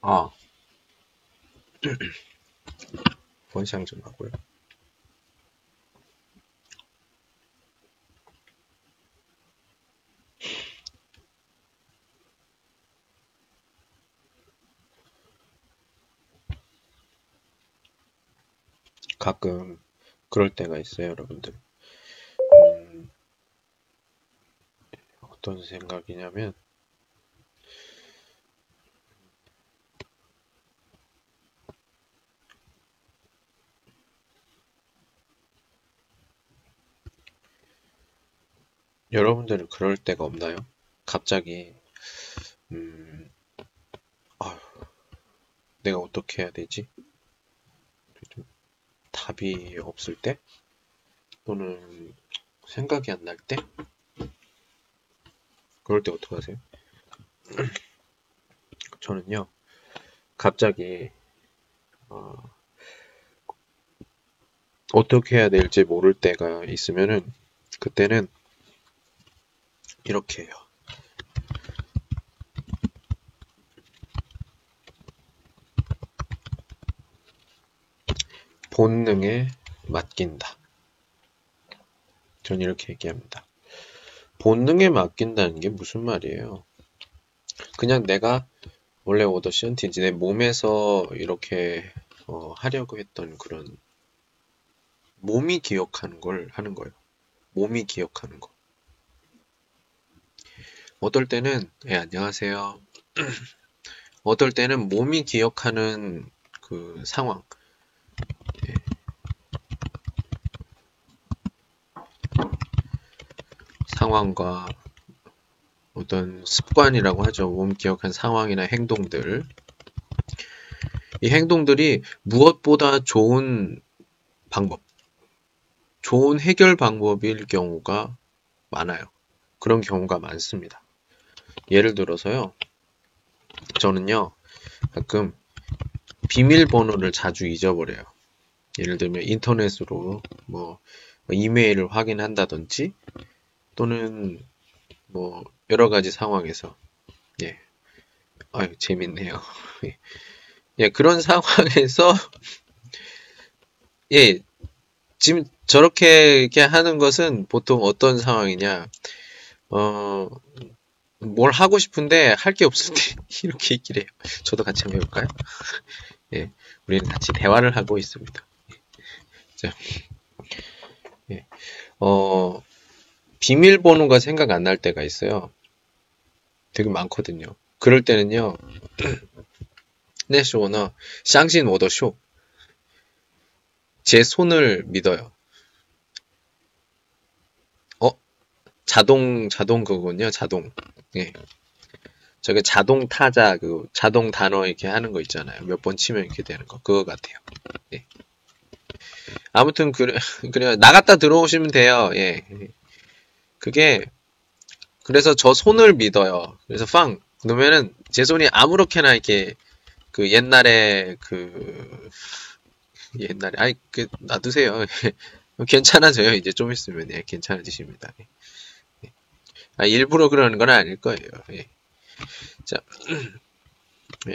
아, 원샹 좀 하고요. 가끔 그럴 때가 있어요, 여러분들. 어떤 생각이냐면, 여러분들은 그럴 때가 없나요? 갑자기, 아휴, 내가 어떻게 해야 되지? 좀 답이 없을 때? 또는 생각이 안 날 때? 그럴 때 어떻게 하세요? 저는요, 갑자기, 어떻게 해야 될지 모를 때가 있으면은, 그때는 이렇게 해요. 본능에 맡긴다. 전 이렇게 얘기합니다. 본능에 맡긴다는 게 무슨 말이에요? 그냥 내가 원래 오더 시언티지 내 몸에서 이렇게 하려고 했던 그런 몸이 기억하는 걸 하는 거예요. 몸이 기억하는 거. 어떨 때는 안녕하세요. 어떨 때는 몸이 기억하는 그 상황. 예, 상황과 어떤 습관이라고 하죠. 몸 기억한 상황이나 행동들. 이 행동들이 무엇보다 좋은 방법, 좋은 해결 방법일 경우가 많아요. 그런 경우가 많습니다. 예를 들어서요. 저는요. 가끔 비밀번호를 자주 잊어버려요. 예를 들면 인터넷으로 뭐 이메일을 확인한다든지 또는 뭐 여러 가지 상황에서 예. 아유, 재밌네요. 예, 그런 상황에서 예, 지금 저렇게 이렇게 하는 것은 보통 어떤 상황이냐? 뭘 하고 싶은데 할 게 없을 때 이렇게 얘기를 해요. 저도 같이 한번 해볼까요? 예, 우리는 같이 대화를 하고 있습니다. 자, 예, 비밀번호가 생각 안 날 때가 있어요. 되게 많거든요. 그럴 때는요, 那时候呢, 相信我的手, 제 손을 믿어요. 자동 그거군요, 자동. 예. 저게 자동 타자, 그 자동 단어 이렇게 하는 거 있잖아요. 몇 번 치면 이렇게 되는 거. 그거 같아요. 예. 아무튼, 그래요. 나갔다 들어오시면 돼요. 예. 그게, 그래서 저 손을 믿어요. 그래서 그러면은 제 손이 아무렇게나 이렇게, 그 옛날에, 아이, 놔두세요. 괜찮아져요. 이제 좀 있으면, 예, 괜찮아지십니다. 예. 아, 일부러 그러는 건 아닐 거예요. 예. 자, 예.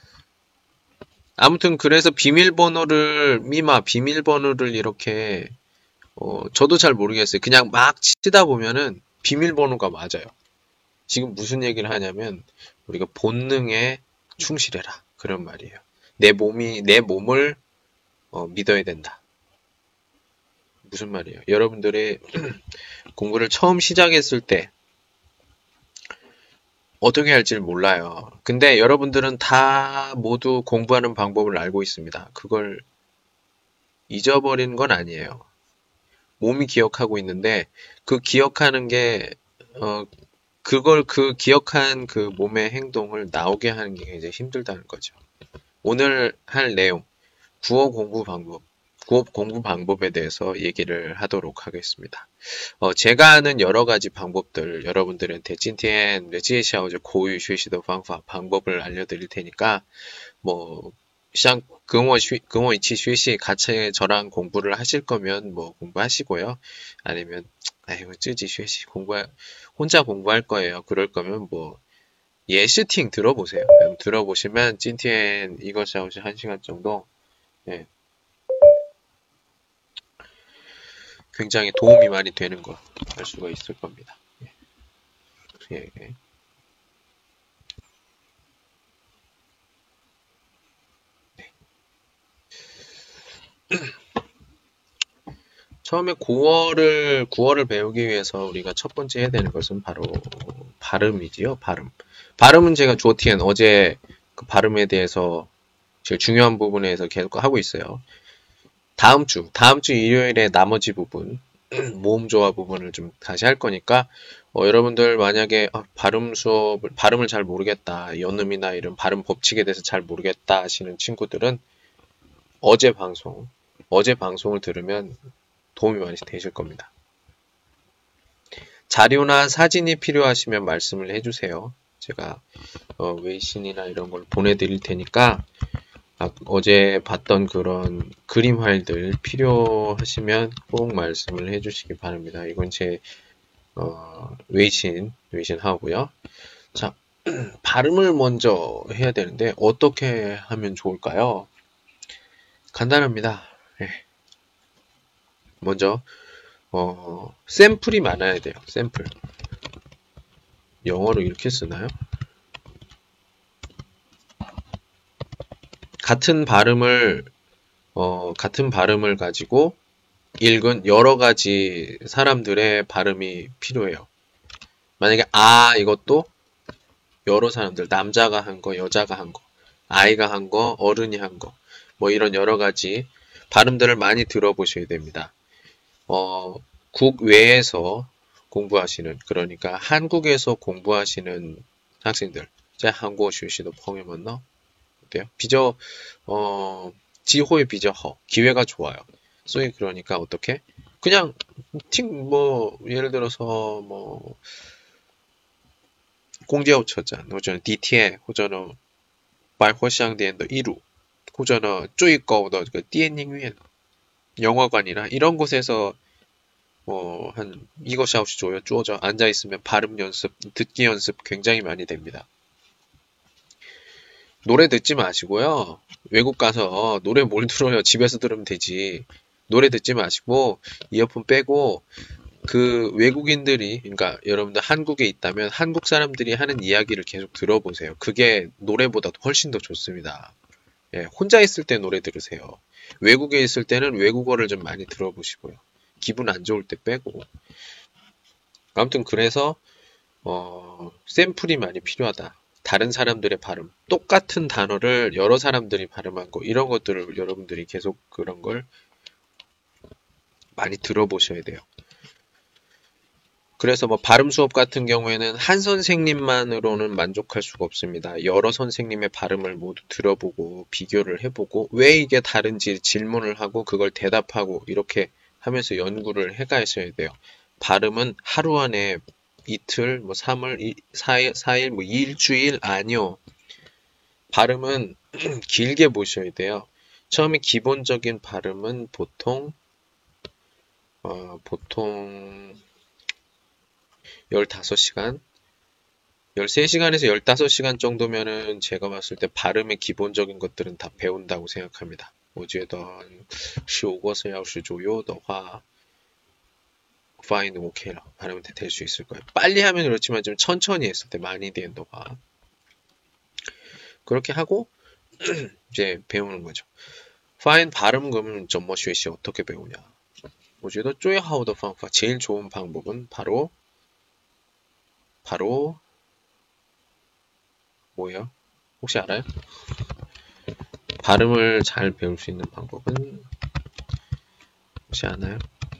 아무튼 그래서 비밀번호를 이렇게 저도 잘 모르겠어요. 그냥 막 치다 보면은 비밀번호가 맞아요. 지금 무슨 얘기를 하냐면 우리가 본능에 충실해라 그런 말이에요. 내 몸을 믿어야 된다. 무슨 말이에요? 여러분들이 공부를 처음 시작했을 때 어떻게 할지를 몰라요. 근데 여러분들은 다 모두 공부하는 방법을 알고 있습니다. 그걸 잊어버리는 건 아니에요. 몸이 기억하고 있는데 그 기억하는 게 그 기억한 그 몸의 행동을 나오게 하는 게 굉장히 힘들다는 거죠. 오늘 할 내용 구어 공부 방법에 대해서 얘기를 하도록 하겠습니다. 제가 아는 여러 가지 방법들 여러분들한테 今天介绍口语学习的方法 방법을 알려드릴 테니까 뭐跟我一起学习 같이 저랑 공부를 하실 거면 뭐 공부하시고요. 아니면 아이고 自己学习 혼자 공부할 거예요. 그럴 거면 뭐 예시팅 들어보세요. 들어보시면 찐티엔 이것이 아웃이 1시간 정도 예, 굉장히 도움이 많이 되는 거 알 수가 있을 겁니다. 예. 예. 처음에 구어를 배우기 위해서 우리가 첫 번째 해야 되는 것은 바로 발음이지요. 발음은 제가 조티엔 어제 그 발음에 대해서 제일 중요한 부분에서 계속 하고 있어요. 다음 주 일요일에 나머지 부분, 모음 조화 부분을 좀 다시 할 거니까, 여러분들 만약에 발음을 잘 모르겠다, 연음이나 이런 발음 법칙에 대해서 잘 모르겠다 하시는 친구들은 어제 방송을 들으면 도움이 많이 되실 겁니다. 자료나 사진이 필요하시면 말씀을 해주세요. 제가 웨이신이나 이런 걸 보내드릴 테니까 어제 봤던 그런 그림 파일들 필요하시면 꼭 말씀을 해주시기 바랍니다. 이건 제 웨이신 하고요. 자, 발음을 먼저 해야 되는데 어떻게 하면 좋을까요? 간단합니다. 네. 먼저 샘플이 많아야 돼요. 샘플. 영어로 이렇게 쓰나요? 같은 발음을 가지고 읽은 여러 가지 사람들의 발음이 필요해요. 만약에 이것도 여러 사람들, 남자가 한 거, 여자가 한 거, 아이가 한 거, 어른이 한 거, 뭐 이런 여러 가지 발음들을 많이 들어보셔야 됩니다. 국외에서 공부하시는, 그러니까 한국에서 공부하시는 학생들, 제 한국어学习的朋友们呢 어때요? 지호의 비저허, 기회가 좋아요. 소위 그러니까 어떻게? 그냥 예를 들어서 공제호처장, 或者地铁，或者呢百货商店的一路，或者呢最高的这个电影院, 영화관이나 이런 곳에서 한 이것이 아웃이 조여 쪼져 앉아있으면 발음 연습, 듣기 연습 굉장히 많이 됩니다. 노래 듣지 마시고요. 외국 가서 노래 뭘 들어요? 집에서 들으면 되지. 노래 듣지 마시고 이어폰 빼고 그 외국인들이, 그러니까 여러분들 한국에 있다면 한국 사람들이 하는 이야기를 계속 들어보세요. 그게 노래보다 훨씬 더 좋습니다. 예, 혼자 있을 때 노래 들으세요. 외국에 있을 때는 외국어를 좀 많이 들어보시고요. 기분 안 좋을 때 빼고. 아무튼 그래서 샘플이 많이 필요하다. 다른 사람들의 발음, 똑같은 단어를 여러 사람들이 발음한 거, 이런 것들을 여러분들이 계속 그런 걸 많이 들어보셔야 돼요. 그래서 발음 수업 같은 경우에는 한 선생님만으로는 만족할 수가 없습니다. 여러 선생님의 발음을 모두 들어보고 비교를 해보고 왜 이게 다른지 질문을 하고 그걸 대답하고 이렇게 하면서 연구를 해가셔야 돼요. 발음은 하루 안에 이틀, 3일, 4일, 일주일 아니요. 발음은 길게 보셔야 돼요. 처음에 기본적인 발음은 보통 15시간, 13시간에서 15시간 정도면은 제가 봤을 때 발음의 기본적인 것들은 다 배운다고 생각합니다. 我觉得15个小时左右的话 파인은 오케이라 발음은 될 수 있을 거예요. 빨리 하면 그렇지만 좀 천천히 했을 때 많이 된다. 그렇게 하고 이제 배우는 거죠. 파인 발음 그러면 怎么学习 어떻게 배우냐? 我觉得最好的方法 제일 좋은 방법은 바로 뭐예요? 혹시 알아요? 발음을 잘 배울 수 있는 방법은 혹시 아나요?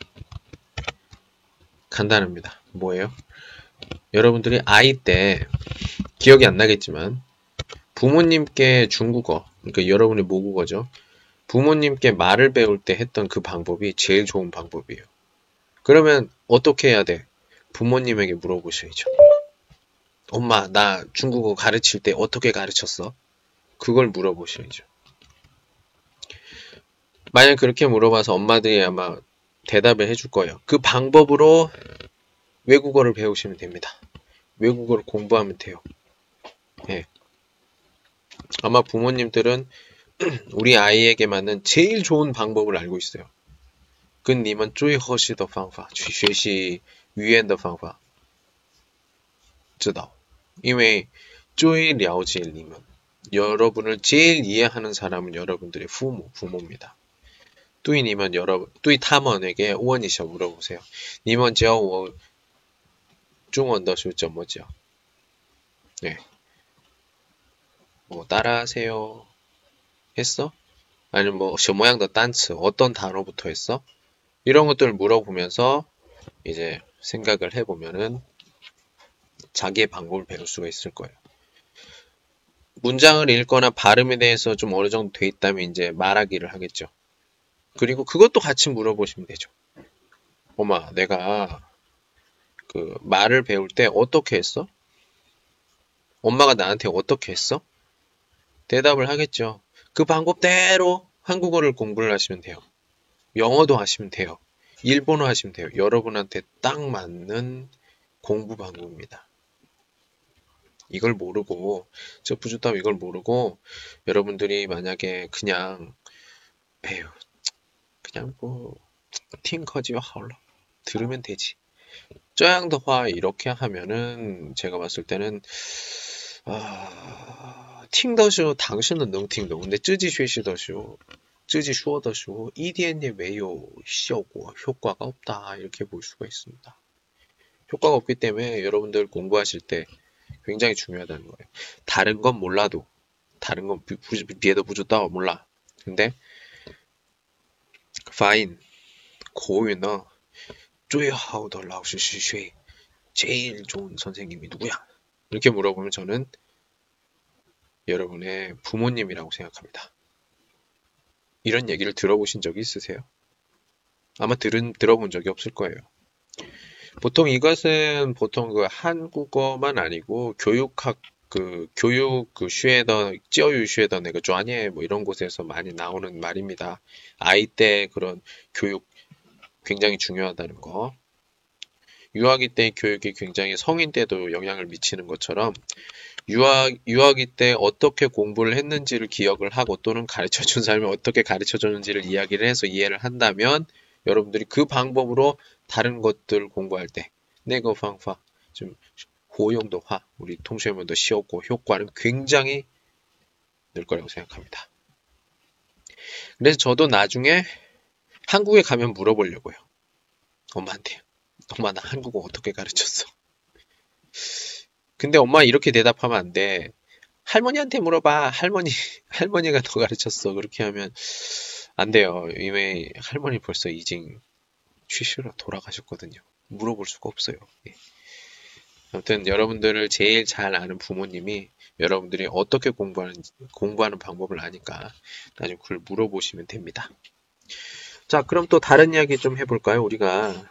간단합니다. 뭐예요? 여러분들이 아이 때 기억이 안 나겠지만 부모님께 중국어, 그러니까 여러분의 모국어죠. 부모님께 말을 배울 때 했던 그 방법이 제일 좋은 방법이에요. 그러면 어떻게 해야 돼? 부모님에게 물어보셔야죠. 엄마, 나 중국어 가르칠 때 어떻게 가르쳤어? 그걸 물어보셔야죠. 만약 그렇게 물어봐서 엄마들이 아마 대답을 해줄 거예요. 그 방법으로 외국어를 배우시면 됩니다. 외국어를 공부하면 돼요. 예. 아마 부모님들은 우리 아이에게 맞는 제일 좋은 방법을 알고 있어요. 跟你们最合适的方法去学习语言的方法知道因为最了解你们 여러분을 제일 이해하는 사람은 여러분들의 부모입니다. 对你们 여러분, 对他们에게 원이셔 물어보세요. 你们教我中文的是怎么教? 네. 뭐 따라하세요. 했어? 아니면 뭐什么样的单词 어떤 단어부터 했어? 이런 것들을 물어보면서 이제 생각을 해보면은 자기의 방법을 배울 수가 있을 거예요. 문장을 읽거나 발음에 대해서 좀 어느 정도 돼 있다면 이제 말하기를 하겠죠. 그리고 그것도 같이 물어보시면 되죠. 엄마, 내가 그 말을 배울 때 어떻게 했어? 엄마가 나한테 어떻게 했어? 대답을 하겠죠. 그 방법대로 한국어를 공부를 하시면 돼요. 영어도 하시면 돼요. 일본어 하시면 돼요. 여러분한테 딱 맞는 공부 방법입니다. 이걸 모르고 저 부주담 이걸 모르고 여러분들이 만약에 그냥 에휴 그냥 뭐 팅커지와 하울러 들으면 되지. 这样的话 이렇게 하면은 제가 봤을 때는听的时候당신은能听懂 근데 自己学习的时候 一点也没有效果 효과가 없다 이렇게 볼 수가 있습니다. 효과가 없기 때문에 여러분들 공부하실 때 굉장히 중요하다는 거예요. 다른 건 몰라도 다른 건 비에도 부주다 몰라. 근데 发音口语呢最好的老师是谁 제일 좋은 선생님이 누구야? 이렇게 물어보면 저는 여러분의 부모님이라고 생각합니다. 이런 얘기를 들어보신 적이 있으세요? 아마 들어본 적이 없을 거예요. 보통 이것은 보통 그 한국어만 아니고 교육학 교육 슈에더 찌어유 슈에더 내가专业 뭐 이런 곳에서 많이 나오는 말입니다. 아이 때 그런 교육 굉장히 중요하다는 거. 유아기 때 교육이 굉장히 성인 때도 영향을 미치는 것처럼 유아기 때 어떻게 공부를 했는지를 기억을 하고 또는 가르쳐준 사람이 어떻게 가르쳐줬는지를 이야기를 해서 이해를 한다면 여러분들이 그 방법으로 다른 것들 공부할 때 내거 방파 좀 호용도화 우리 통수해면도 쉬웠고 효과는 굉장히 늘 거라고 생각합니다. 그래서 저도 나중에 한국에 가면 물어보려고요. 엄마한테. 엄마 나 한국어 어떻게 가르쳤어? 근데 엄마 이렇게 대답하면 안 돼. 할머니한테 물어봐. 할머니가 더 가르쳤어. 그렇게 하면 안 돼요. 이미 할머니 벌써 이징 취시로 돌아가셨거든요. 물어볼 수가 없어요. 예. 아무튼 여러분들을 제일 잘 아는 부모님이 여러분들이 어떻게 공부하는 방법을 아니까 나중에 그걸 물어보시면 됩니다. 자, 그럼 또 다른 이야기 좀 해볼까요? 우리가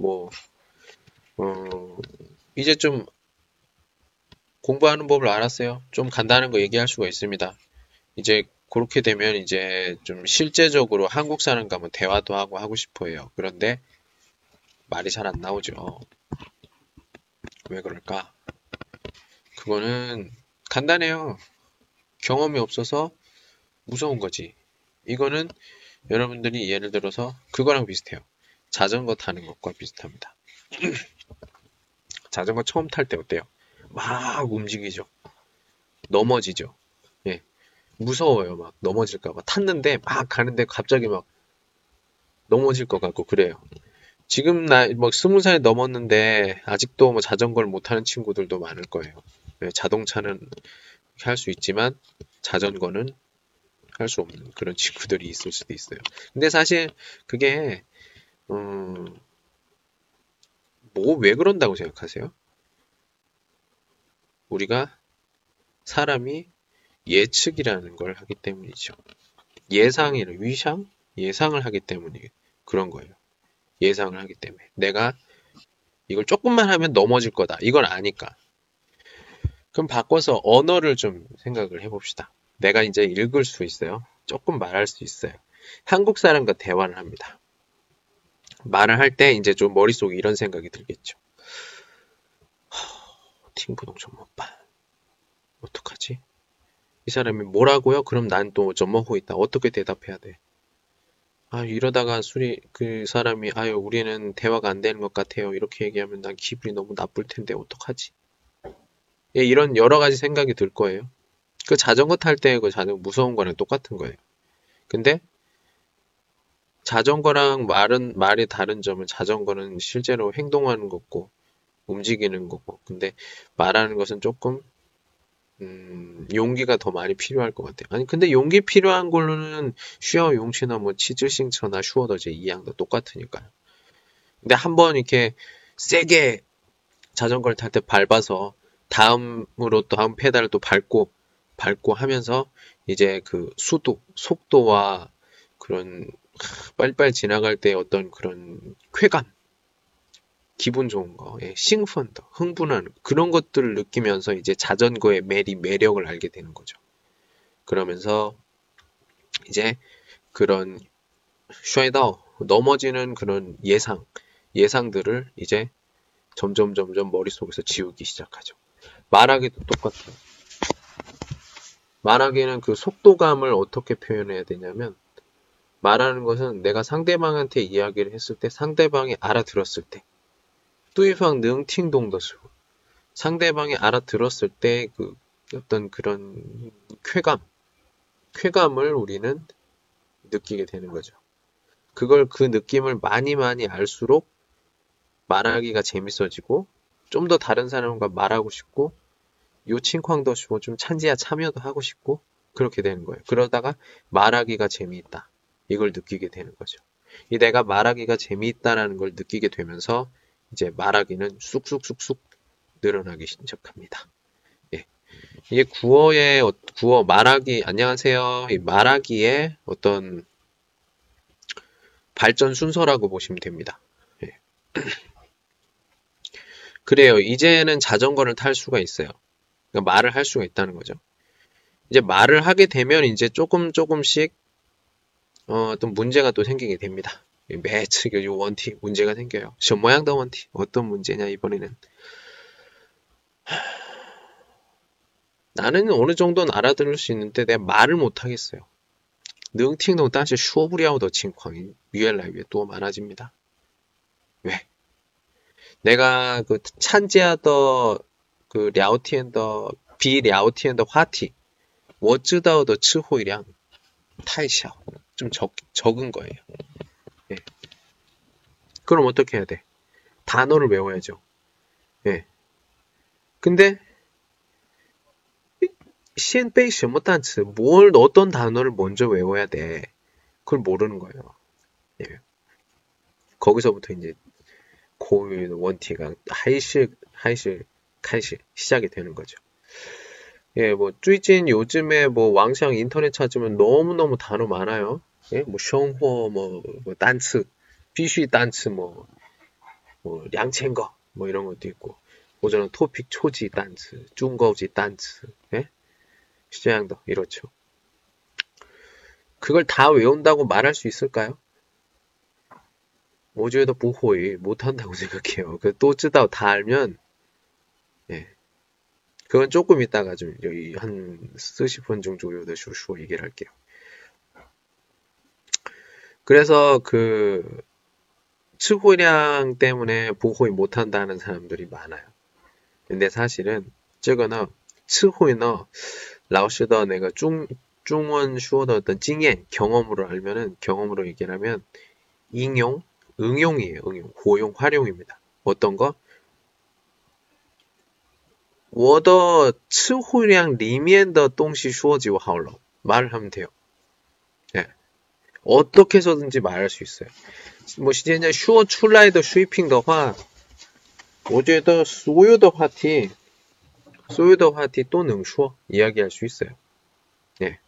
이제 좀 공부하는 법을 알았어요. 좀 간단한 거 얘기할 수가 있습니다. 이제 그렇게 되면 이제 좀 실제적으로 한국 사람 가면 대화도 하고 싶어 해요. 그런데 말이 잘 안 나오죠. 왜 그럴까? 그거는 간단해요. 경험이 없어서 무서운 거지. 이거는 여러분들이 예를 들어서 그거랑 비슷해요. 자전거 타는 것과 비슷합니다. 자전거 처음 탈 때 어때요? 막 움직이죠. 넘어지죠. 예. 무서워요. 막 넘어질까봐. 탔는데 막 가는데 갑자기 막 넘어질 것 같고 그래요. 지금 나 뭐 20살 넘었는데 아직도 뭐 자전거를 못 타는 친구들도 많을 거예요. 예, 자동차는 할 수 있지만 자전거는 할 수 없는 그런 친구들이 있을 수도 있어요. 근데 사실 그게 왜 그런다고 생각하세요? 우리가 사람이 예측이라는 걸 하기 때문이죠. 예상을 하기 때문에 그런 거예요. 예상을 하기 때문에 내가 이걸 조금만 하면 넘어질 거다. 이걸 아니까. 그럼 바꿔서 언어를 좀 생각을 해봅시다. 내가 이제 읽을 수 있어요. 조금 말할 수 있어요. 한국 사람과 대화를 합니다. 말을 할 때 이제 좀 머릿속에 이런 생각이 들겠죠. 팅부동 좀 못 봐. 어떡하지? 이 사람이 뭐라고요? 그럼 난 또 젖먹고 있다. 어떻게 대답해야 돼? 아, 이러다가 그 사람이, 아유, 우리는 대화가 안 되는 것 같아요. 이렇게 얘기하면 난 기분이 너무 나쁠 텐데, 어떡하지? 예, 이런 여러 가지 생각이 들 거예요. 그 자전거 탈 때 그 자전거 무서운 거랑 똑같은 거예요. 근데 자전거랑 말이 다른 점은 자전거는 실제로 행동하는 거고, 움직이는 거고, 근데 말하는 것은 조금 용기가 더 많이 필요할 것 같아요. 아니, 근데 용기 필요한 걸로는 쉬어 용치나 뭐 치즈싱처나 슈어더제 이양도 똑같으니까요. 근데 한번 이렇게 세게 자전거를 탈 때 밟아서 다음으로 또 다음 페달을 또 밟고 하면서 이제 그 속도와 그런 빨리빨리 지나갈 때 어떤 그런 쾌감, 기분 좋은 거, 예, 싱펀더, 흥분하는 그런 것들을 느끼면서 이제 자전거의 매력을 알게 되는 거죠. 그러면서 이제 그런 쉐이더 넘어지는 그런 예상들을 이제 점점 머릿속에서 지우기 시작하죠. 말하기도 똑같아요. 말하기는 그 속도감을 어떻게 표현해야 되냐면 말하는 것은 내가 상대방한테 이야기를 했을 때 상대방이 알아들었을 때 对方能听懂的时候 상대방이 알아들었을 때 그 어떤 그런 쾌감을 우리는 느끼게 되는 거죠. 그 느낌을 많이 알수록 말하기가 재밌어지고 좀 더 다른 사람과 말하고 싶고 요칭쾅도 싶고 좀 참여도 하고 싶고 그렇게 되는 거예요. 그러다가 말하기가 재미있다. 이걸 느끼게 되는 거죠. 이 내가 말하기가 재미있다라는 걸 느끼게 되면서 이제 말하기는 쑥쑥 늘어나기 시작합니다. 예. 이게 구어 말하기 안녕하세요. 이 말하기의 어떤 발전 순서라고 보시면 됩니다. 예. 그래요. 이제는 자전거를 탈 수가 있어요. 그러니까 말을 할 수가 있다는 거죠. 이제 말을 하게 되면 이제 조금씩 어떤 문제가 또 생기게 됩니다. 매치 요 원티 문제가 생겨요. 저 모양도 원티 어떤 문제냐 이번에는 나는 어느 정도는 알아들을 수 있는데 내가 말을 못 하겠어요. 능팅동但是说不了的情况越来越多 많아집니다. 왜? 내가 그参加的그 聊天的比聊天的话题我知道的词汇量太小 좀 적은 거예요. 예. 그럼 어떻게 해야 돼? 단어를 외워야죠. 예. 근데 先背什么单词 어떤 단어를 먼저 외워야 돼? 그걸 모르는 거예요. 예. 거기서부터 이제 고유 원티가 하이시 시작이 되는 거죠. 예, 뭐, 最近 요즘에 뭐, 왕샹 인터넷 찾으면 너무너무 단어 많아요. 예, 뭐, 生活, 뭐, 단츠, 必须 단츠, 뭐, 2000거, 뭐, 이런 것도 있고, 오전은 토픽 초지 단츠, 중거지 단츠, 예? 시장도 이렇죠. 그걸 다 외운다고 말할 수 있을까요? 我觉得不会 못한다고 생각해요. 또知道 다 알면, 예. 그건 조금 있다가 좀 여기 한 40분 정도 쇼 얘기를 할게요. 그래서 그词汇량 때문에 보호이 못한다는 사람들이 많아요. 근데 사실은 这个呢词汇呢老师的那个中文说的어떤经验 경험으로 알면은 경험으로 얘기를 하면 응용이에요.活用 활용입니다. 어떤 거? 我的词汇量里面的东西说就好了. 말을 하면 돼요. 예. 어떻게 해서든지 말할 수 있어요. 我现在说出来的水平的话我觉得所有的话题都能说 이야기할 수 있어요. 예.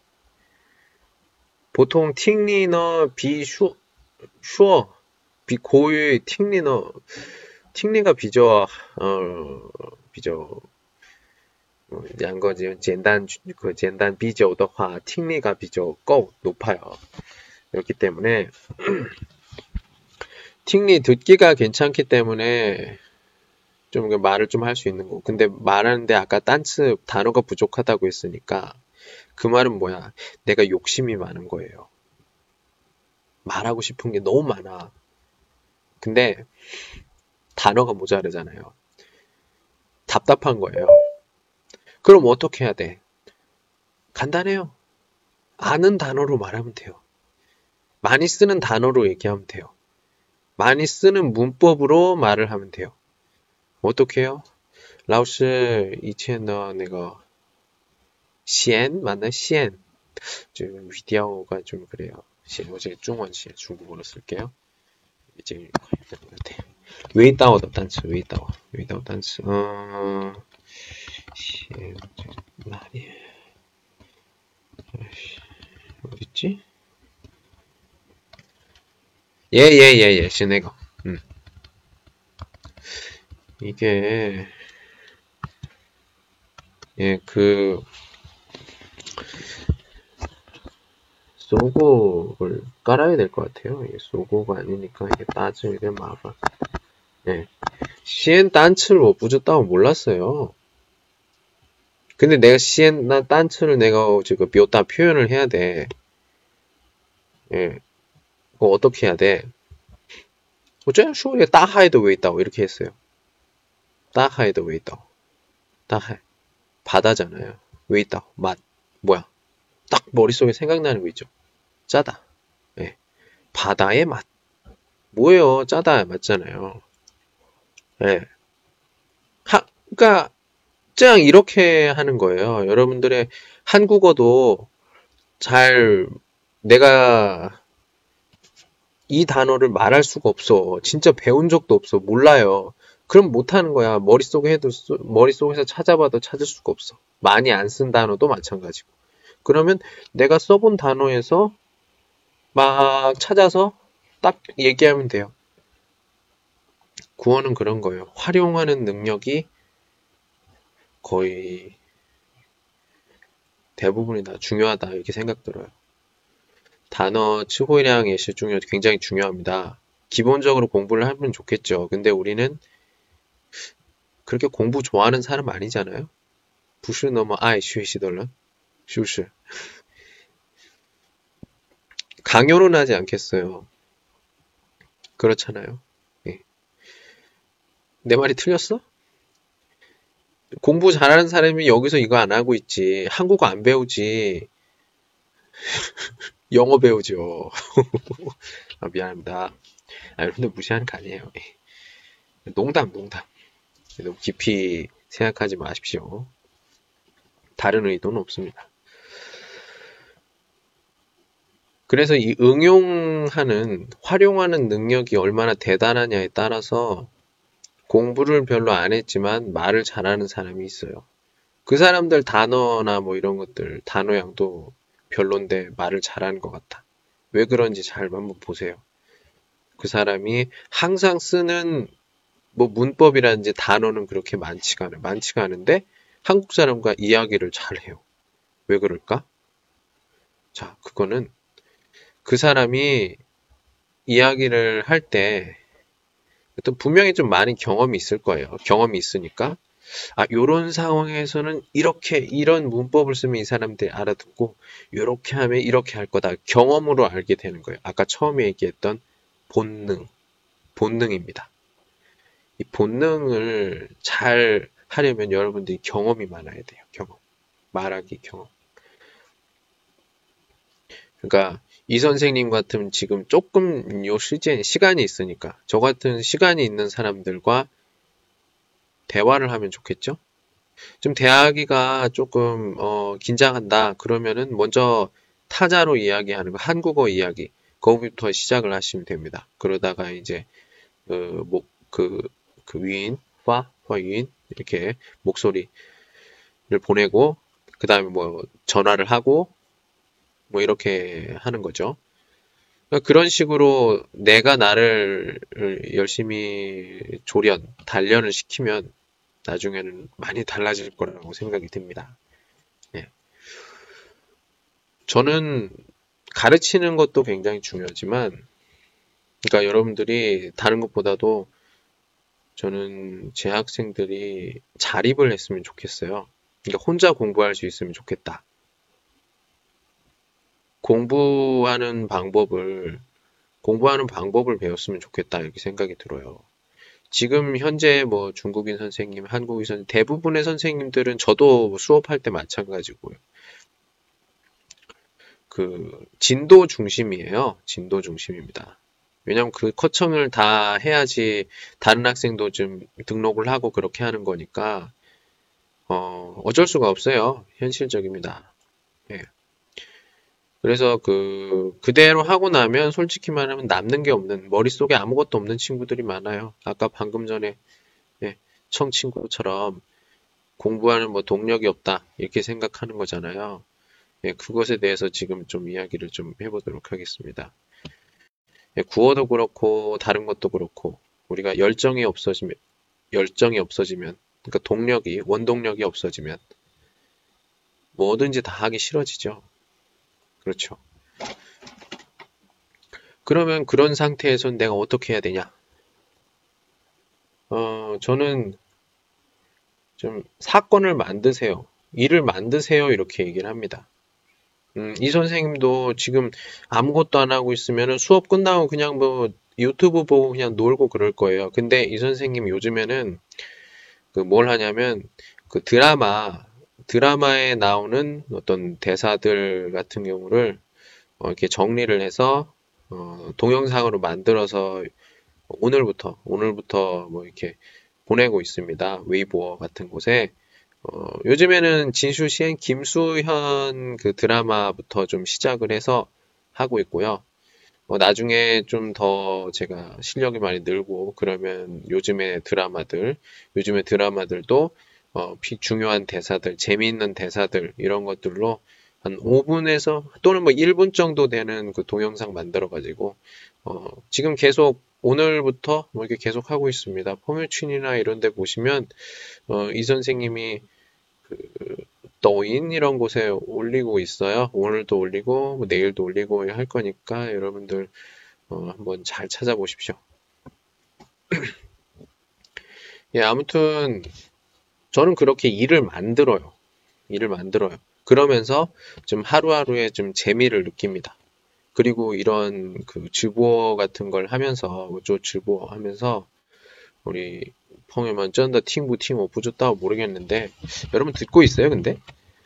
보통 팅리는比口语 팅리가比较两个简单比较的话 팅리가 比较 높아요. 그렇기 때문에 팅리 듣기가 괜찮기 때문에 좀 말을 좀 할 수 있는 거. 근데 말하는데 아까 딴츠 단어가 부족하다고 했으니까 그 말은 뭐야? 내가 욕심이 많은 거예요. 말하고 싶은 게 너무 많아. 근데 단어가 모자르잖아요. 답답한 거예요. 그럼 어떻게 해야 돼? 간단해요. 아는 단어로 말하면 돼요. 많이 쓰는 단어로 얘기하면 돼요. 많이 쓰는 문법으로 말을 하면 돼요. 어떻게 해요? 老师以前的那个 시엔 맞나? 시엔 좀 위디어가 좀 그래요. 어제 중원 시 중국어로 쓸게요. 이제 웨이다오더 단츠 웨이다오 단츠 시엔 나리 어딨지? 예예예예 시네거 이게 예 그 소고를 깔아야 될 것 같아요. 이게 소고가 아니니까 이게 따지게 마烦. 예. 시엔 단츠를 못 부졌다고 몰랐어요. 근데 내가 시엔 단츠를 내가 지금 묘다 표현을 해야 돼. 예. 그거 어떻게 해야 돼? 어쩌면 쇼에 따하이도 왜 있다고 이렇게 했어요. 따하이도 왜 있다고. 따하이. 바다잖아요. 왜 있다고. 맛. 뭐야? 딱 머릿속에 생각나는 거 있죠. 짜다. 예. 바다의 맛. 뭐예요? 짜다 맞잖아요. 예. 그러니까 그냥 이렇게 하는 거예요. 여러분들의 한국어도 잘 내가 이 단어를 말할 수가 없어. 진짜 배운 적도 없어. 몰라요. 그럼 못하는 거야. 머릿속에서 찾아봐도 찾을 수가 없어. 많이 안 쓴 단어도 마찬가지고. 그러면 내가 써본 단어에서 막 찾아서 딱 얘기하면 돼요. 구어는 그런 거예요. 활용하는 능력이 거의 대부분이 다 중요하다 이렇게 생각 들어요. 단어 츠호량 예시 중요 굉장히 중요합니다. 기본적으로 공부를 하면 좋겠죠. 근데 우리는 그렇게 공부 좋아하는 사람 아니잖아요. 不是那么爱学习的人是不是 강요는 하지 않겠어요. 그렇잖아요. 예. 내 말이 틀렸어? 공부 잘하는 사람이 여기서 이거 안 하고 있지. 한국어 안 배우지. 영어 배우죠. 아, 미안합니다. 아, 여러분들 무시하는 거 아니에요. 농담. 너무 깊이 생각하지 마십시오. 다른 의도는 없습니다. 그래서 이 활용하는 능력이 얼마나 대단하냐에 따라서 공부를 별로 안 했지만 말을 잘하는 사람이 있어요. 그 사람들 단어나 뭐 이런 것들, 단어량도 별론데 말을 잘하는 것 같아. 왜 그런지 잘 한번 보세요. 그 사람이 항상 쓰는 뭐 문법이라든지 단어는 그렇게 많지가 않은데 한국 사람과 이야기를 잘해요. 왜 그럴까? 자, 그거는 그 사람이 이야기를 할 때 어떤 분명히 좀 많은 경험이 있을 거예요. 경험이 있으니까 아, 요런 상황에서는 이런 문법을 쓰면 이 사람들이 알아듣고 요렇게 하면 이렇게 할 거다. 경험으로 알게 되는 거예요. 아까 처음에 얘기했던 본능입니다. 이 본능을 잘 하려면 여러분들이 경험이 많아야 돼요. 말하기 경험. 그러니까 이 선생님 같은 지금 조금 시간이 있으니까 저 같은 시간이 있는 사람들과 대화를 하면 좋겠죠? 좀 대하기가 조금 긴장한다. 그러면은 먼저 타자로 이야기하는 거, 한국어 이야기 거기부터 시작을 하시면 됩니다. 그러다가 이제 위인, 화유인 이렇게 목소리를 보내고 그 다음에 뭐 전화를 하고 뭐 이렇게 하는 거죠. 그런 식으로 내가 나를 열심히 단련을 시키면 나중에는 많이 달라질 거라고 생각이 듭니다. 예. 저는 가르치는 것도 굉장히 중요하지만, 그러니까 여러분들이 다른 것보다도 저는 제 학생들이 자립을 했으면 좋겠어요. 그러니까 혼자 공부할 수 있으면 좋겠다. 공부하는 방법을 배웠으면 좋겠다 이렇게 생각이 들어요. 지금 현재 뭐 중국인 선생님, 한국인 선생님, 대부분의 선생님들은 저도 수업할 때 마찬가지고요. 그 진도 중심이에요. 진도 중심입니다. 왜냐면 그 커청을 다 해야지 다른 학생도 좀 등록을 하고 그렇게 하는 거니까 어쩔 수가 없어요. 현실적입니다. 예. 그래서 그대로 하고 나면 솔직히 말하면 남는 게 없는, 머릿속에 아무것도 없는 친구들이 많아요. 아까 방금 전에, 예, 청 친구처럼 공부하는 뭐 동력이 없다, 이렇게 생각하는 거잖아요. 예, 그것에 대해서 지금 좀 이야기를 좀 해보도록 하겠습니다. 예, 구어도 그렇고, 다른 것도 그렇고, 우리가 열정이 없어지면, 그러니까 원동력이 없어지면, 뭐든지 다 하기 싫어지죠. 그렇죠. 그러면 그런 상태에선 내가 어떻게 해야 되냐? 저는 좀 사건을 만드세요. 일을 만드세요. 이렇게 얘기를 합니다. 이 선생님도 지금 아무것도 안 하고 있으면 수업 끝나고 그냥 뭐 유튜브 보고 그냥 놀고 그럴 거예요. 근데 이 선생님 요즘에는 뭘 하냐면 그 드라마에 나오는 어떤 대사들 같은 경우를 이렇게 정리를 해서 동영상으로 만들어서 오늘부터 뭐 이렇게 보내고 있습니다. 웨이보 같은 곳에. 요즘에는 진슈시엔 김수현 그 드라마부터 좀 시작을 해서 하고 있고요. 나중에 좀 더 제가 실력이 많이 늘고 그러면 요즘의 드라마들도 중요한 대사들, 재미있는 대사들 이런 것들로 한 5분에서 또는 뭐 1분 정도 되는 그 동영상 만들어 가지고 지금 계속 오늘부터 뭐 이렇게 계속 하고 있습니다. 포뮤춘이나 이런 데 보시면 이 선생님이 그抖音 이런 곳에 올리고 있어요. 오늘도 올리고 뭐 내일도 올리고 할 거니까 여러분들 한번 잘 찾아보십시오. 예, 아무튼 저는 그렇게 일을 만들어요. 그러면서 좀 하루하루에 좀 재미를 느낍니다. 그리고 이런 그直播 같은 걸 하면서, 直播 하면서, 우리, 펑유만 쩐다 팅부 부줬다고 모르겠는데, 여러분 듣고 있어요, 근데?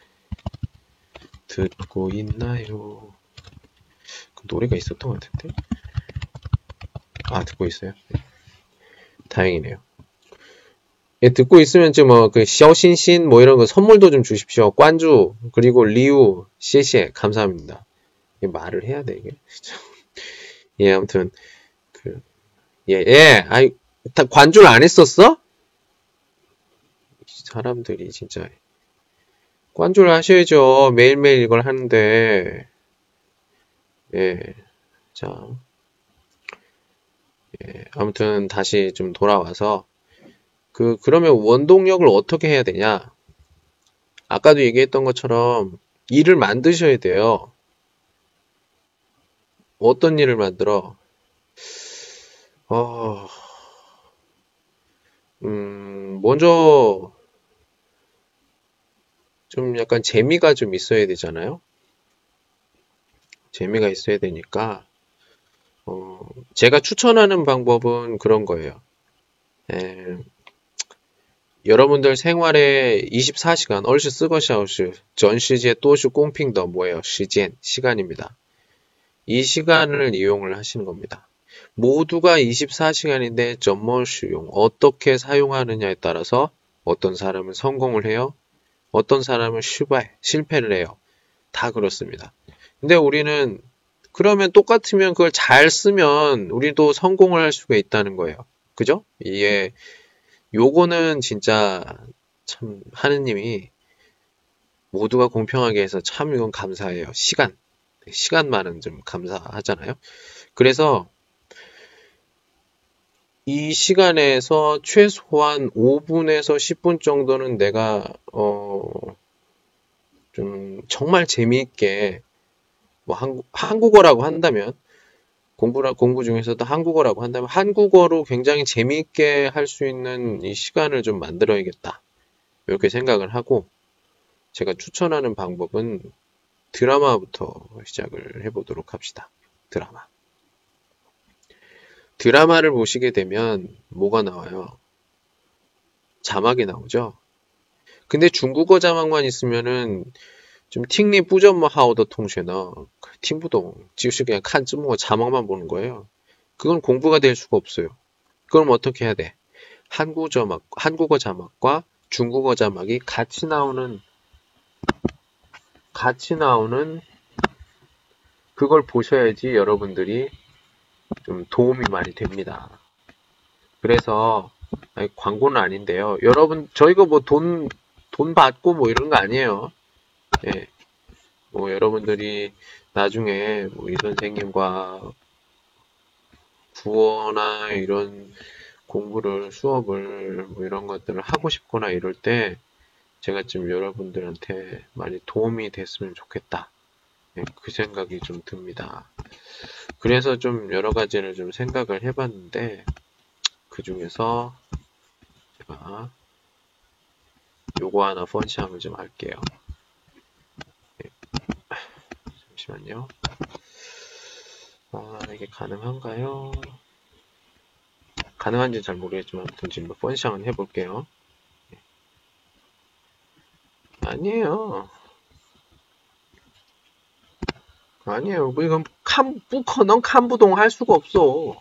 듣고 있나요? 그 노래가 있었던 것 같은데? 아, 듣고 있어요. 네. 다행이네요. 예, 듣고 있으면 좀 샤오신신 뭐 이런 거 선물도 좀 주십시오. 관주, 그리고 리우, 시시에 감사합니다. 말을 해야 돼, 이게. 예, 아무튼, 아이, 다 관주를 안 했었어? 사람들이 진짜. 관주를 하셔야죠. 매일매일 이걸 하는데. 예, 자. 예, 아무튼 다시 좀 돌아와서, 그러면 원동력을 어떻게 해야 되냐? 아까도 얘기했던 것처럼 일을 만드셔야 돼요. 어떤 일을 만들어? 먼저 좀 약간 재미가 좀 있어야 되잖아요. 재미가 있어야 되니까 제가 추천하는 방법은 그런 거예요. 여러분들 생활에 24시간 얼시 쓰거샤오시 전 시제 또시 공핑더 뭐예요? 시간입니다. 이 시간을 이용을 하시는 겁니다. 모두가 24시간인데 점머 수용 어떻게 사용하느냐에 따라서 어떤 사람은 성공을 해요. 어떤 사람은 실패를 해요. 다 그렇습니다. 근데 우리는 그러면 똑같으면 그걸 잘 쓰면 우리도 성공을 할 수가 있다는 거예요. 그죠? 이게 요거는 진짜 참 하느님이 모두가 공평하게 해서 참 이건 감사해요. 시간만은 좀 감사하잖아요. 그래서 이 시간에서 최소한 5분에서 10분 정도는 내가 좀 정말 재미있게 뭐 한국어라고 한다면 공부 중에서도 한국어라고 한다면 한국어로 굉장히 재미있게 할 수 있는 이 시간을 좀 만들어야겠다. 이렇게 생각을 하고 제가 추천하는 방법은 드라마부터 시작을 해보도록 합시다. 드라마. 드라마를 보시게 되면 뭐가 나와요? 자막이 나오죠? 근데 중국어 자막만 있으면은 좀 팅리 뿌점뭐 하오더 통쉐너 팅부동 지우씨 그냥 칸 쯔모 자막만 보는 거예요. 그건 공부가 될 수가 없어요. 그럼 어떻게 해야 돼? 한국어 자막과 중국어 자막이 같이 나오는 그걸 보셔야지 여러분들이 좀 도움이 많이 됩니다. 그래서 광고는 아닌데요. 여러분 저희가 뭐 돈 받고 뭐 이런 거 아니에요. 예. 뭐 여러분들이 나중에 뭐 이 선생님과 국어나 이런 수업을 뭐 이런 것들을 하고 싶거나 이럴 때 제가 좀 여러분들한테 많이 도움이 됐으면 좋겠다. 예, 그 생각이 좀 듭니다. 그래서 좀 여러 가지를 좀 생각을 해봤는데 그 중에서 제가 요거 하나 펀시함을 좀 할게요. 예. 잠시만요. 이게 가능한가요? 가능한지 잘 모르겠지만 아무튼 지금 펀시함을 해볼게요. 예. 아니에요. 뭐 이건 넌 칸부동 할 수가 없어.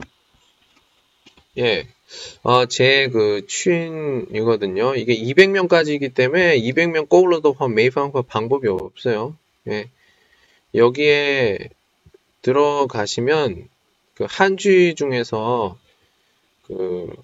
예. 제 그 취인이거든요. 이게 200명까지이기 때문에 200명 꼬울러도 매입한 방법이 없어요. 예. 여기에 들어가시면 그 한쥐 중에서 그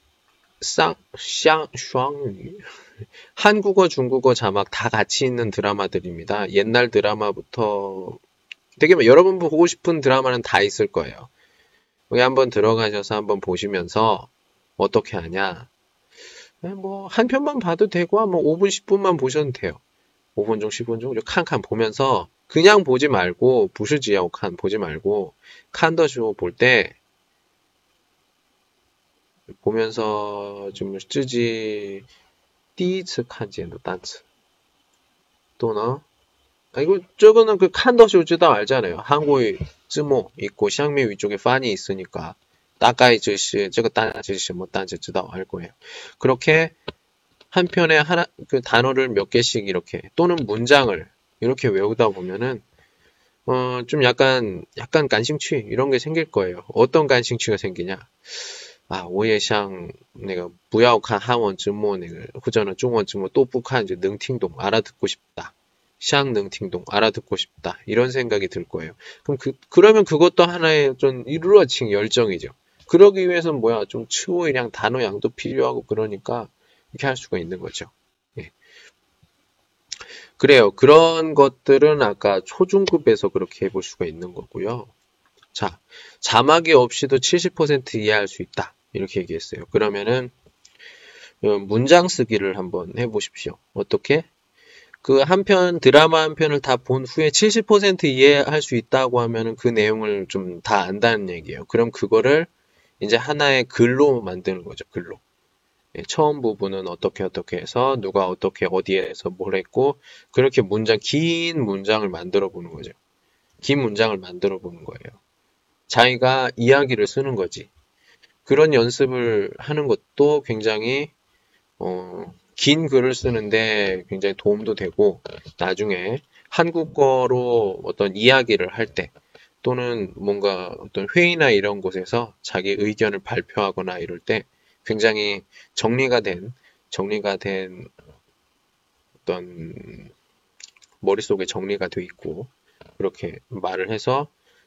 한국어, 중국어 자막 다 같이 있는 드라마들입니다. 옛날 드라마부터 되게 여러분 보고 싶은 드라마는 다 있을 거예요. 여기 한번 들어가셔서 한번 보시면서 어떻게 하냐. 뭐 한 편만 봐도 되고 뭐 5분, 10분만 보셔도 돼요. 5분 중, 10분 중 칸칸 보면서 그냥 보지 말고 부시지하고 칸 보지 말고 칸더쇼 볼 때 보면서 좀 쯔지 第一次看见的单词 또는 이거 저거는 그 칸더쇼 쯔다 알잖아요. 한국의 쯔모 있고 샹미 위쪽에 판이 있으니까 따까이 쯔시 저거 따지시 뭐 딴지 쯔다 알 거예요. 그렇게 한 편에 하나 그 단어를 몇 개씩 이렇게 또는 문장을 이렇게 외우다 보면은 좀 약간 간싱취 이런 게 생길 거예요. 어떤 간싱취가 생기냐? 我也像那个不要看韩文字幕那个或者呢中文字幕都不看就能听懂 알아듣고 싶다. 像能听懂 알아듣고 싶다. 이런 생각이 들 거예요. 그러면 그것도 하나의 좀 이루어진 열정이죠. 그러기 위해서는 좀 추후이랑 단어 양도 필요하고 그러니까 이렇게 할 수가 있는 거죠. 예. 그래요. 그런 것들은 아까 초중급에서 그렇게 해볼 수가 있는 거고요. 자, 자막이 없이도 70% 이해할 수 있다. 이렇게 얘기했어요. 그러면은 문장 쓰기를 한번 해보십시오. 어떻게? 그 드라마 한 편을 다 본 후에 70% 이해할 수 있다고 하면은 그 내용을 좀 다 안다는 얘기예요. 그럼 그거를 이제 하나의 글로 만드는 거죠. 글로. 예, 처음 부분은 어떻게 해서 누가 어떻게 어디에서 뭘 했고 그렇게 긴 문장을 만들어 보는 거죠. 긴 문장을 만들어 보는 거예요. 자기가 이야기를 쓰는 거지. 그런 연습을 하는 것도 굉장히 긴 글을 쓰는데 굉장히 도움도 되고 나중에 한국어로 어떤 이야기를 할 때 또는 뭔가 어떤 회의나 이런 곳에서 자기 의견을 발표하거나 이럴 때 굉장히 정리가 된 어떤 머릿속에 정리가 돼 있고 그렇게 말을 해서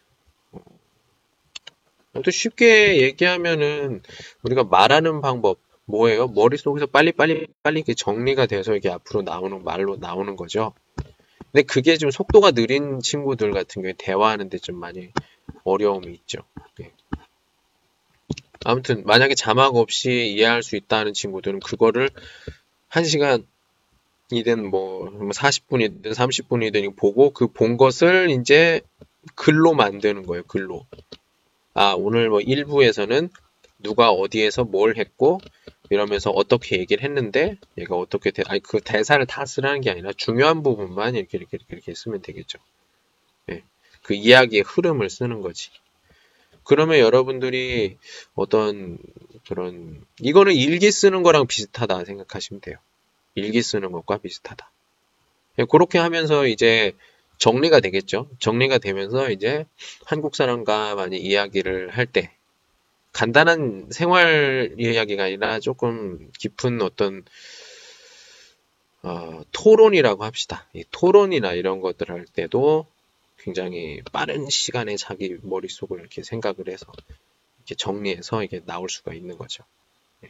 또 쉽게 얘기하면은 우리가 말하는 방법 뭐예요? 머릿속에서 빨리 이렇게 정리가 돼서 이렇게 앞으로 말로 나오는 거죠. 근데 그게 좀 속도가 느린 친구들 같은 경우에 대화하는데 좀 많이 어려움이 있죠. 네. 아무튼 만약에 자막 없이 이해할 수 있다는 친구들은 그거를 1시간이든 뭐 40분이든 30분이든 보고 그 본 것을 이제 글로 만드는 거예요. 글로. 오늘 뭐 1부에서는 누가 어디에서 뭘 했고, 이러면서 어떻게 얘기를 했는데, 얘가 어떻게, 그 대사를 다 쓰라는 게 아니라 중요한 부분만 이렇게 쓰면 되겠죠. 예. 그 이야기의 흐름을 쓰는 거지. 그러면 여러분들이 어떤 이거는 일기 쓰는 거랑 비슷하다 생각하시면 돼요. 일기 쓰는 것과 비슷하다. 예, 그렇게 하면서 이제 정리가 되겠죠. 정리가 되면서 이제 한국 사람과 많이 이야기를 할 때, 간단한 생활 이야기가 아니라 조금 깊은 어떤 토론이라고 합시다. 이 토론이나 이런 것들 할 때도 굉장히 빠른 시간에 자기 머릿속을 이렇게 생각을 해서 이렇게 정리해서 이게 나올 수가 있는 거죠. 예.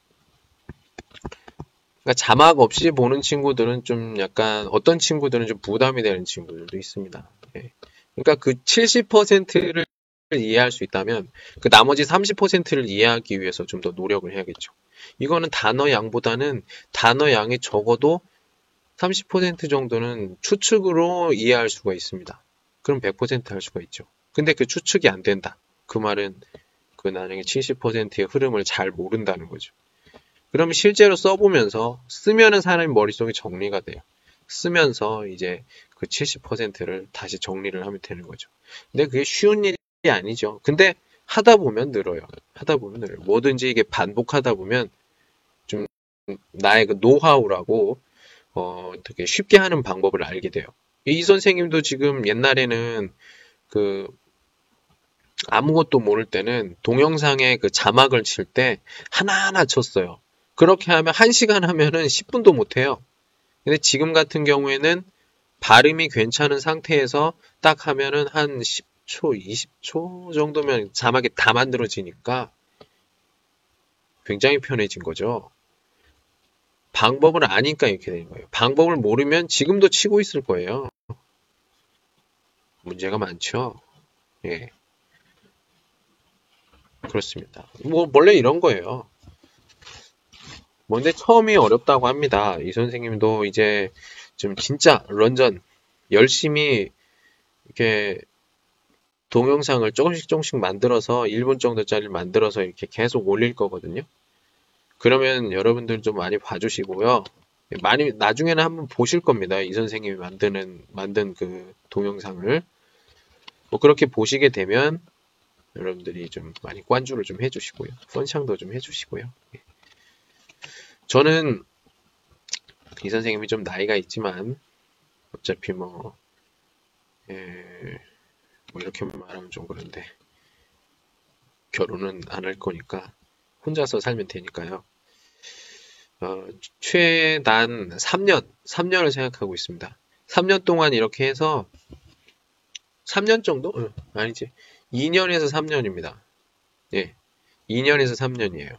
그러니까 자막 없이 보는 친구들은 좀 약간 어떤 친구들은 좀 부담이 되는 친구들도 있습니다. 예. 그러니까 그 70%를 이해할 수 있다면 그 나머지 30%를 이해하기 위해서 좀 더 노력을 해야겠죠. 이거는 단어 양보다는 단어 양이 적어도 30% 정도는 추측으로 이해할 수가 있습니다. 그럼 100% 할 수가 있죠. 근데 그 추측이 안 된다. 그 말은 그 나중에 70%의 흐름을 잘 모른다는 거죠. 그러면 실제로 써보면서 쓰면은 사람의 머릿속에 정리가 돼요. 쓰면서 이제 그 70%를 다시 정리를 하면 되는 거죠. 근데 그게 쉬운 일이 아니죠. 근데 하다 보면 늘어요. 하다 보면 늘어요. 뭐든지 이게 반복하다 보면 좀 나의 그 노하우라고 되게 쉽게 하는 방법을 알게 돼요. 이 선생님도 지금 옛날에는 그 아무것도 모를 때는 동영상에 그 자막을 칠 때 하나하나 쳤어요. 그렇게 하면 1시간 하면은 10분도 못 해요. 근데 지금 같은 경우에는 발음이 괜찮은 상태에서 딱 하면은 한 10초, 20초 정도면 자막이 다 만들어지니까 굉장히 편해진 거죠. 방법을 아니까 이렇게 되는 거예요. 방법을 모르면 지금도 치고 있을 거예요. 문제가 많죠. 예. 그렇습니다. 뭐, 원래 이런 거예요. 뭔데 처음이 어렵다고 합니다. 이 선생님도 이제 좀 진짜 런전 열심히 이렇게 동영상을 조금씩 만들어서 1분 정도짜리 만들어서 이렇게 계속 올릴 거거든요. 그러면 여러분들 좀 많이 봐주시고요. 많이 나중에는 한번 보실 겁니다. 이 선생님이 만든 그 동영상을 뭐 그렇게 보시게 되면 여러분들이 좀 많이 관注를 좀 해주시고요. 펀창도 좀 해주시고요. 저는 이 선생님이 좀 나이가 있지만 어차피 뭐 이렇게 말하면 좀 그런데 결혼은 안 할 거니까 혼자서 살면 되니까요. 최단 3년을 생각하고 있습니다. 3년 동안 이렇게 해서 3년 정도? 아니지. 2년에서 3년입니다. 예. 2년에서 3년이에요.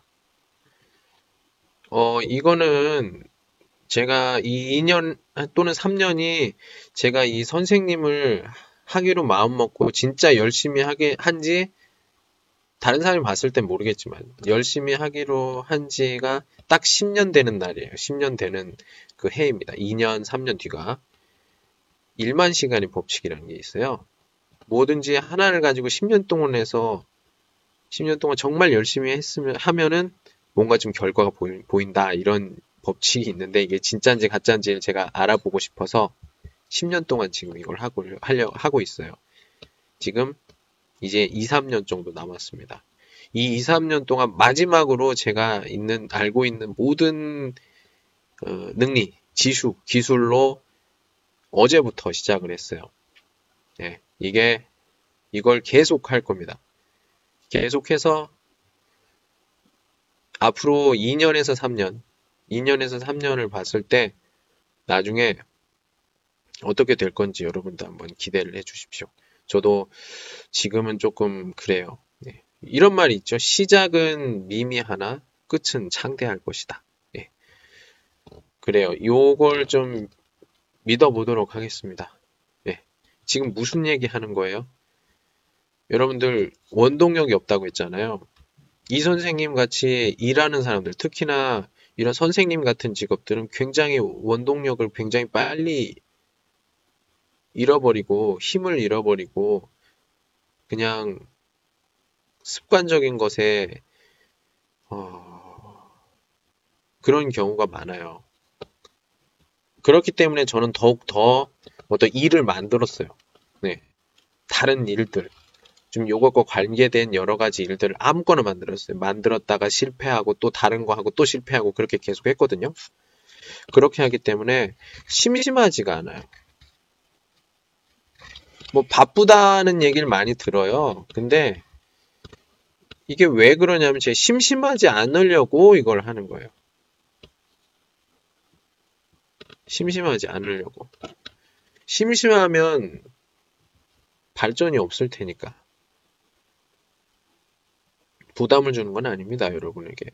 이거는 제가 이 2년 또는 3년이 제가 이 선생님을 하기로 마음먹고 진짜 열심히 한지 다른 사람이 봤을 땐 모르겠지만 열심히 하기로 한 지가 딱 10년 되는 날이에요. 10년 되는 그 해입니다. 2년, 3년 뒤가 1만 시간의 법칙이라는 게 있어요. 뭐든지 하나를 가지고 10년 동안 해서 10년 동안 정말 열심히 하면은 뭔가 좀 결과가 보인다 이런 법칙이 있는데 이게 진짜인지 가짜인지 제가 알아보고 싶어서 10년 동안 지금 이걸 하고 있어요. 지금 이제 2, 3년 정도 남았습니다. 이 2, 3년 동안 마지막으로 제가 알고 있는 모든 능리, 지수, 기술로 어제부터 시작을 했어요. 네, 이걸 계속 할 겁니다. 계속해서 앞으로 2년에서 3년을 봤을 때 나중에 어떻게 될 건지 여러분도 한번 기대를 해 주십시오. 저도 지금은 조금 그래요. 네. 이런 말이 있죠. 시작은 미미하나 끝은 창대할 것이다. 네. 그래요. 요걸 좀 믿어보도록 하겠습니다. 네. 지금 무슨 얘기 하는 거예요? 여러분들 원동력이 없다고 했잖아요. 이 선생님 같이 일하는 사람들, 특히나 이런 선생님 같은 직업들은 굉장히 원동력을 굉장히 빨리 잃어버리고 힘을 잃어버리고 그냥 습관적인 것에 그런 경우가 많아요. 그렇기 때문에 저는 더욱 더 어떤 일을 만들었어요. 네. 다른 일들. 좀 요것과 관계된 여러 가지 일들을 아무거나 만들었어요. 만들었다가 실패하고 또 다른 거 하고 또 실패하고 그렇게 계속 했거든요. 그렇게 하기 때문에 심심하지가 않아요. 뭐 바쁘다는 얘기를 많이 들어요. 근데 이게 왜 그러냐면 제가 심심하지 않으려고 이걸 하는 거예요. 심심하지 않으려고. 심심하면 발전이 없을 테니까. 부담을 주는 건 아닙니다, 여러분에게.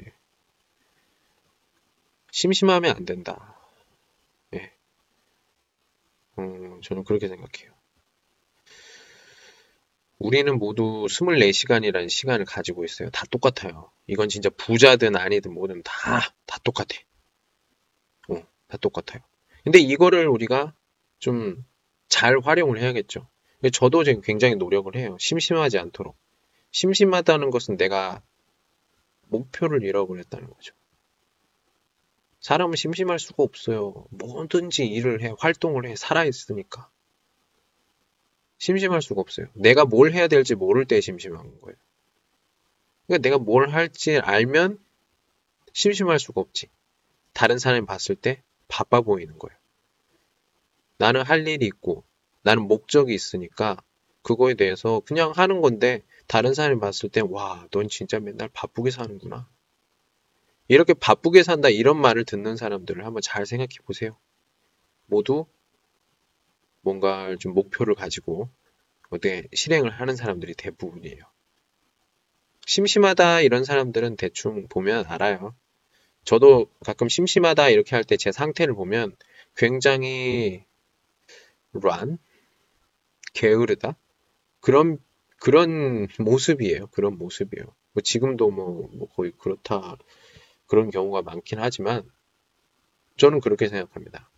심심하면 안 된다. 예. 저는 그렇게 생각해요. 우리는 모두 24시간이라는 시간을 가지고 있어요. 다 똑같아요. 이건 진짜 부자든 아니든 뭐든 다 똑같아. 다 똑같아요. 근데 이거를 우리가 좀 잘 활용을 해야겠죠. 저도 지금 굉장히 노력을 해요. 심심하지 않도록. 심심하다는 것은 내가 목표를 잃어버렸다는 거죠. 사람은 심심할 수가 없어요. 뭐든지 일을 해, 활동을 해, 살아있으니까. 심심할 수가 없어요. 내가 뭘 해야 될지 모를 때 심심한 거예요. 그러니까 내가 뭘 할지 알면 심심할 수가 없지. 다른 사람이 봤을 때 바빠 보이는 거예요. 나는 할 일이 있고 나는 목적이 있으니까 그거에 대해서 그냥 하는 건데 다른 사람이 봤을 때 와, 넌 진짜 맨날 바쁘게 사는구나. 이렇게 바쁘게 산다 이런 말을 듣는 사람들을 한번 잘 생각해 보세요. 모두 뭔가 좀 목표를 가지고 어떻게 실행을 하는 사람들이 대부분이에요. 심심하다 이런 사람들은 대충 보면 알아요. 저도 가끔 심심하다 이렇게 할 때 제 상태를 보면 굉장히 게으르다? 그런 모습이에요. 그런 모습이에요. 뭐 지금도 뭐 거의 그렇다, 그런 경우가 많긴 하지만, 저는 그렇게 생각합니다.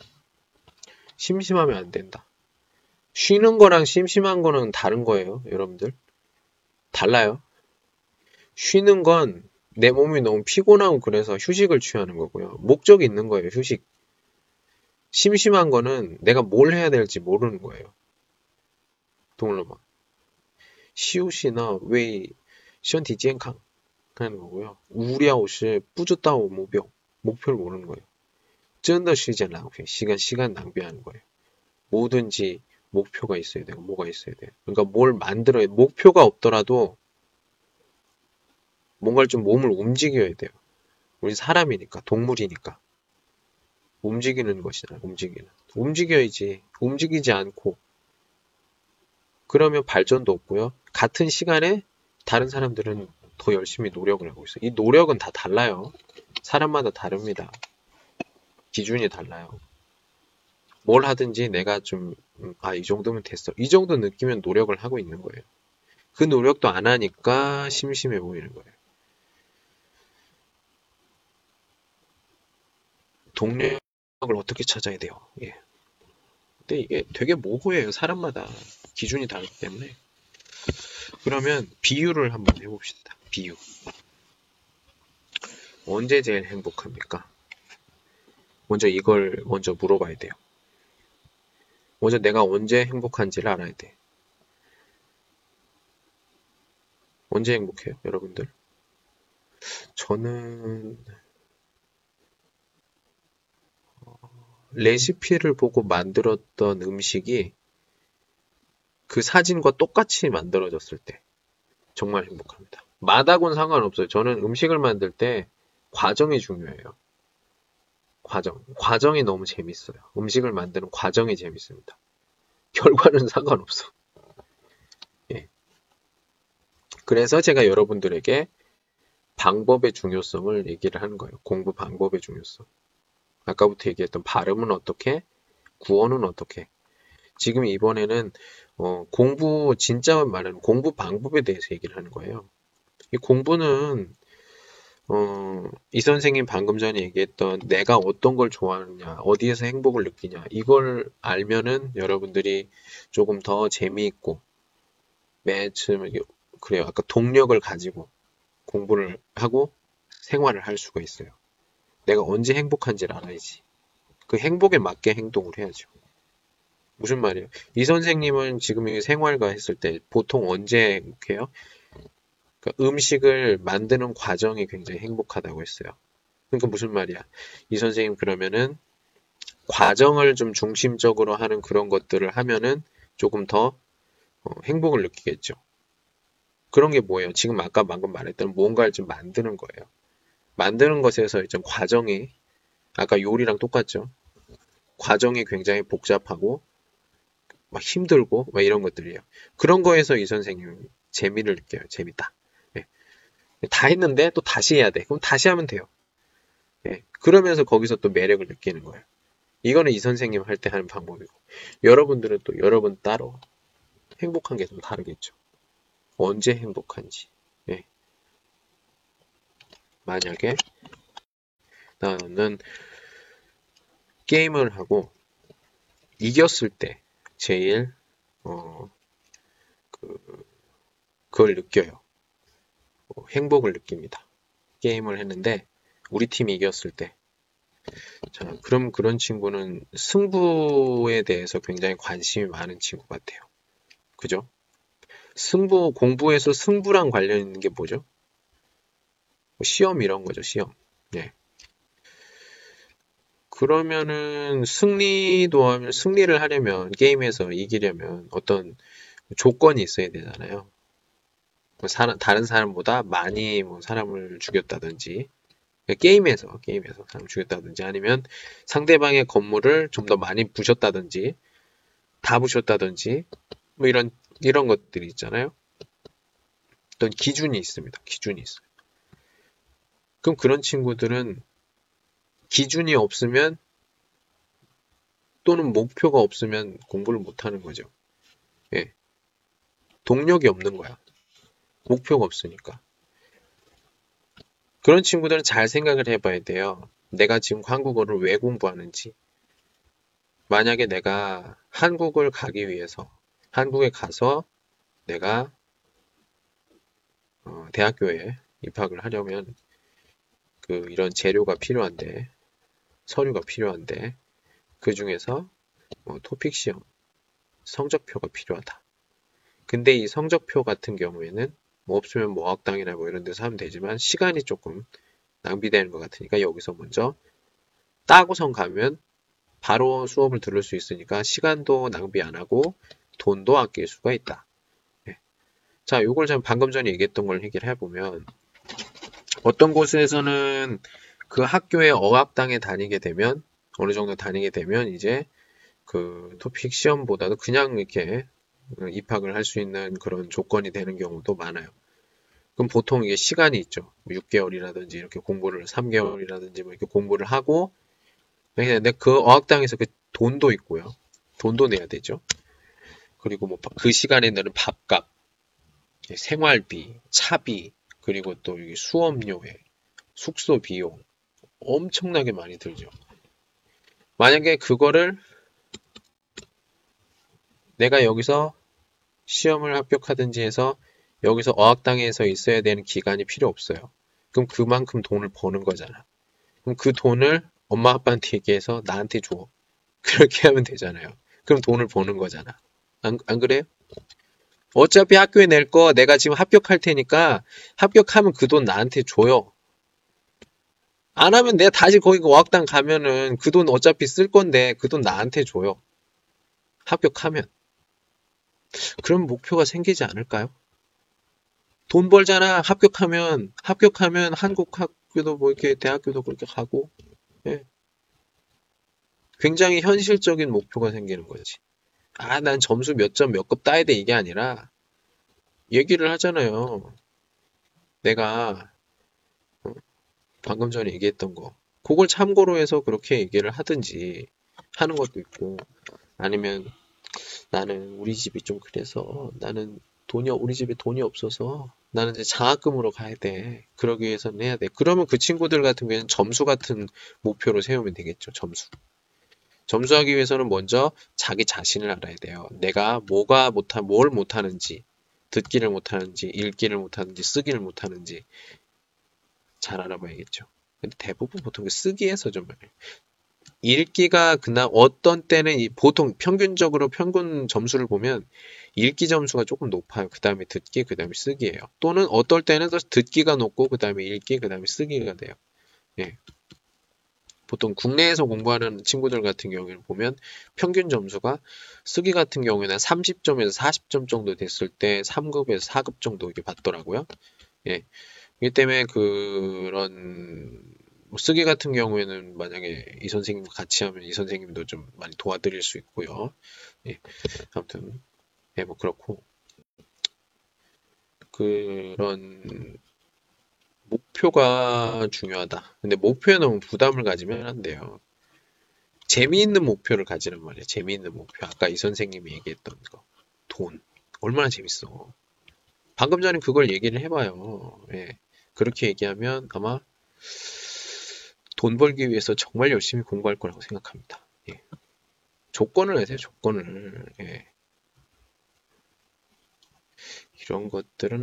심심하면 안 된다. 쉬는 거랑 심심한 거는 다른 거예요, 여러분들. 달라요. 쉬는 건 내 몸이 너무 피곤하고 그래서 휴식을 취하는 거고요. 목적이 있는 거예요, 휴식. 심심한 거는 내가 뭘 해야 될지 모르는 거예요. 동물로만. 시우시나 왜身体健康 하는 거고요. 无聊是不知道目标 목표를 모르는 거예요. 真的时间浪费 시간 낭비하는 거예요. 뭐든지 목표가 있어야 돼요. 뭐가 있어야 돼요. 그러니까 뭘 만들어야 돼요. 목표가 없더라도 뭔가를 좀 몸을 움직여야 돼요. 우리 사람이니까, 동물이니까. 움직이는 것이잖아요. 움직여야지. 움직이지 않고 그러면 발전도 없고요. 같은 시간에 다른 사람들은 더 열심히 노력을 하고 있어요. 이 노력은 다 달라요. 사람마다 다릅니다. 기준이 달라요. 뭘 하든지 내가 좀, 이 정도면 됐어. 이 정도 느끼면 노력을 하고 있는 거예요. 그 노력도 안 하니까 심심해 보이는 거예요. 동력을 어떻게 찾아야 돼요? 예. 근데 이게 되게 모호해요. 사람마다 기준이 다르기 때문에. 그러면 비유를 한번 해봅시다. 비유. 언제 제일 행복합니까? 먼저 이걸 먼저 물어봐야 돼요. 먼저 내가 언제 행복한지를 알아야 돼. 언제 행복해요, 여러분들? 저는 레시피를 보고 만들었던 음식이 그 사진과 똑같이 만들어졌을 때 정말 행복합니다. 맛하고는 상관없어요. 저는 음식을 만들 때 과정이 중요해요. 과정이 너무 재밌어요. 음식을 만드는 과정이 재밌습니다. 결과는 상관없어. 예. 그래서 제가 여러분들에게 방법의 중요성을 얘기를 하는 거예요. 공부 방법의 중요성. 아까부터 얘기했던 발음은 어떻게, 구어는 어떻게. 지금 이번에는 공부 진짜 말하는 공부 방법에 대해서 얘기를 하는 거예요. 이 공부는 이 선생님 방금 전에 얘기했던 내가 어떤 걸 좋아하느냐, 어디에서 행복을 느끼냐, 이걸 알면은 여러분들이 조금 더 재미있고 매일 그래요. 아까 동력을 가지고 공부를 하고 생활을 할 수가 있어요. 내가 언제 행복한지를 알아야지. 그 행복에 맞게 행동을 해야죠. 무슨 말이에요? 이 선생님은 지금 생활과 했을 때 보통 언제 행복해요? 그러니까 음식을 만드는 과정이 굉장히 행복하다고 했어요. 그러니까 무슨 말이야? 이 선생님 그러면은 과정을 좀 중심적으로 하는 그런 것들을 하면은 조금 더 행복을 느끼겠죠. 그런 게 뭐예요? 지금 아까 방금 말했던 뭔가를 좀 만드는 거예요. 만드는 것에서 좀 과정이 아까 요리랑 똑같죠. 과정이 굉장히 복잡하고 막 힘들고 막 이런 것들이에요. 그런 거에서 이 선생님은 재미를 느껴요. 재밌다. 예. 다 했는데 또 다시 해야 돼. 그럼 다시 하면 돼요. 예. 그러면서 거기서 또 매력을 느끼는 거예요. 이거는 이 선생님 할 때 하는 방법이고 여러분들은 또 여러분 따로 행복한 게 좀 다르겠죠. 언제 행복한지. 예. 만약에 나는 게임을 하고 이겼을 때 제일 그걸 느껴요. 행복을 느낍니다. 게임을 했는데 우리 팀이 이겼을 때 자, 그럼 그런 친구는 승부에 대해서 굉장히 관심이 많은 친구 같아요. 그죠? 승부, 공부에서 승부랑 관련 있는 게 뭐죠? 뭐 시험 이런 거죠, 시험. 네. 그러면은 승리를 하려면, 게임에서 이기려면 어떤 조건이 있어야 되잖아요. 뭐 다른 사람보다 많이 뭐 사람을 죽였다든지, 게임에서 사람 죽였다든지 아니면 상대방의 건물을 좀 더 많이 부셨다든지 다 부셨다든지 뭐 이런 것들이 있잖아요. 어떤 기준이 있습니다. 기준이 있어요. 그럼 그런 친구들은 기준이 없으면 또는 목표가 없으면 공부를 못 하는 거죠. 예. 동력이 없는 거야. 목표가 없으니까. 그런 친구들은 잘 생각을 해봐야 돼요. 내가 지금 한국어를 왜 공부하는지. 만약에 내가 한국을 가기 위해서 한국에 가서 내가 대학교에 입학을 하려면 이런 재료가 필요한데 서류가 필요한데 그 중에서 토픽 시험 성적표가 필요하다. 근데 이 성적표 같은 경우에는 뭐 없으면 뭐 어학당이나 뭐 이런 데서 하면 되지만 시간이 조금 낭비되는 것 같으니까 여기서 먼저 따고선 가면 바로 수업을 들을 수 있으니까 시간도 낭비 안 하고 돈도 아낄 수가 있다. 네. 자, 요걸 방금 전에 얘기했던 걸 해결해 보면 어떤 곳에서는 그 학교에 어학당에 다니게 되면 어느 정도 다니게 되면 이제 그 토픽 시험보다도 그냥 이렇게 입학을 할 수 있는 그런 조건이 되는 경우도 많아요. 그럼 보통 이게 시간이 있죠. 6개월이라든지 이렇게 공부를 3개월이라든지 뭐 이렇게 공부를 하고 근데 그 어학당에서 그 돈도 있고요. 돈도 내야 되죠. 그리고 뭐 그 시간에 내는 밥값, 생활비, 차비, 그리고 또 수업료에 숙소 비용 엄청나게 많이 들죠. 만약에 그거를 내가 여기서 시험을 합격하든지 해서 여기서 어학당에서 있어야 되는 기간이 필요 없어요. 그럼 그만큼 돈을 버는 거잖아. 그럼 그 돈을 엄마 아빠한테 얘기해서 나한테 줘. 그렇게 하면 되잖아요. 그럼 돈을 버는 거잖아. 안 그래요? 어차피 학교에 낼 거 내가 지금 합격할 테니까 합격하면 그 돈 나한테 줘요. 안 하면 내가 다시 거기 어학당 가면은 그 돈 어차피 쓸 건데 그 돈 나한테 줘요. 합격하면. 그럼 목표가 생기지 않을까요? 돈 벌잖아. 합격하면 한국 학교도 뭐 이렇게 대학교도 그렇게 가고 예. 굉장히 현실적인 목표가 생기는 거지. 아, 난 점수 몇 점 몇 급 따야 돼 이게 아니라 얘기를 하잖아요. 내가 방금 전에 얘기했던 거 그걸 참고로 해서 그렇게 얘기를 하든지 하는 것도 있고 아니면 나는 우리 집이 좀 그래서 나는 우리 집에 돈이 없어서 나는 이제 장학금으로 가야 돼. 그러기 위해서는 해야 돼. 그러면 그 친구들 같은 경우에는 점수 같은 목표를 세우면 되겠죠. 점수하기 위해서는 먼저 자기 자신을 알아야 돼요. 내가 뭘 못하는지, 듣기를 못하는지, 읽기를 못하는지, 쓰기를 못하는지 잘 알아봐야겠죠. 근데 대부분 보통 쓰기에서 좀 읽기가 그날 어떤 때는 보통 평균적으로 평균 점수를 보면 읽기 점수가 조금 높아요. 그 다음에 듣기, 그 다음에 쓰기예요. 또는 어떨 때는 듣기가 높고 그 다음에 읽기, 그 다음에 쓰기가 돼요. 예. 보통 국내에서 공부하는 친구들 같은 경우에는 보면 평균 점수가 쓰기 같은 경우에는 30점에서 40점 정도 됐을 때 3급에서 4급 정도 이렇게 받더라고요. 예. 이기 때문에 그런 쓰기 같은 경우에는 만약에 이 선생님과 같이 하면 이 선생님도 좀 많이 도와드릴 수 있고요. 예. 아무튼 예, 뭐 그렇고 그런 목표가 중요하다. 근데 목표에 너무 부담을 가지면 안 돼요. 재미있는 목표를 가지란 말이에요. 재미있는 목표. 아까 이 선생님이 얘기했던 거. 돈. 얼마나 재밌어. 방금 전에 그걸 얘기를 해봐요. 예. 그렇게 얘기하면 아마 돈 벌기 위해서 정말 열심히 공부할 거라고 생각합니다. 예. 조건을 내세요. 조건을. 예. 이런 것들은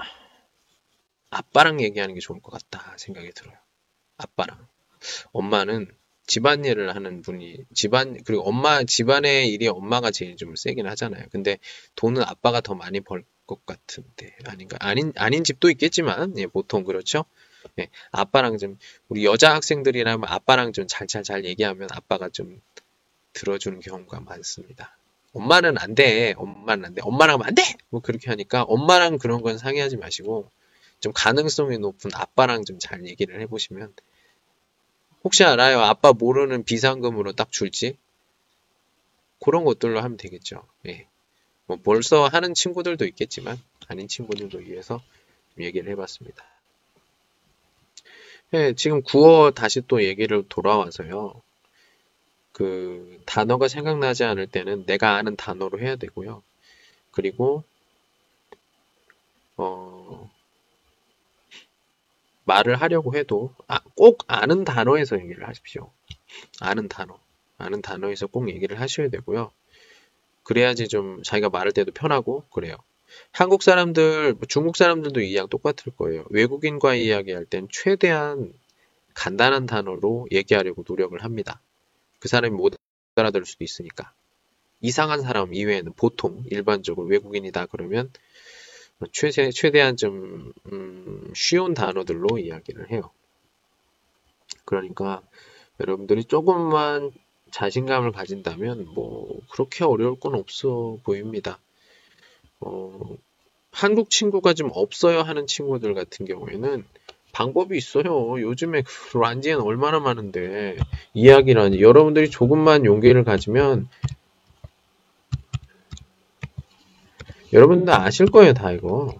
아빠랑 얘기하는 게 좋을 것 같다 생각이 들어요. 아빠랑. 엄마는 집안일을 하는 분이 그리고 집안의 일이 엄마가 제일 좀 세긴 하잖아요. 근데 돈은 아빠가 더 많이 벌 것 같은데 아닌가? 아닌 집도 있겠지만 예, 보통 그렇죠. 예, 아빠랑 좀 우리 여자 학생들이라면 아빠랑 좀 잘 얘기하면 아빠가 좀 들어주는 경우가 많습니다. 엄마는 안 돼. 엄마는 안 돼. 엄마랑 하면 안 돼. 뭐 그렇게 하니까 엄마랑 그런 건 상의하지 마시고 좀 가능성이 높은 아빠랑 좀 잘 얘기를 해보시면 혹시 알아요? 아빠 모르는 비상금으로 딱 줄지? 그런 것들로 하면 되겠죠. 예. 뭐 벌써 하는 친구들도 있겠지만 아닌 친구들도 위해서 얘기를 해봤습니다. 예, 지금 구어 다시 또 얘기를 돌아와서요. 그 단어가 생각나지 않을 때는 내가 아는 단어로 해야 되고요. 그리고 말을 하려고 해도 꼭 아는 단어에서 얘기를 하십시오. 아는 단어에서 꼭 얘기를 하셔야 되고요. 그래야지 좀 자기가 말할 때도 편하고 그래요. 한국 사람들, 중국 사람들도 이 이야기 똑같을 거예요. 외국인과 이야기할 땐 최대한 간단한 단어로 얘기하려고 노력을 합니다. 그 사람이 못 알아들을 수도 있으니까. 이상한 사람 이외에는 보통 일반적으로 외국인이다 그러면 최대한 좀 쉬운 단어들로 이야기를 해요. 그러니까 여러분들이 조금만 자신감을 가진다면 뭐 그렇게 어려울 건 없어 보입니다. 한국 친구가 좀 없어요 하는 친구들 같은 경우에는 방법이 있어요. 요즘에 란지엔 얼마나 많은데 이야기라니 여러분들이 조금만 용기를 가지면 여러분들 아실 거예요 다 이거.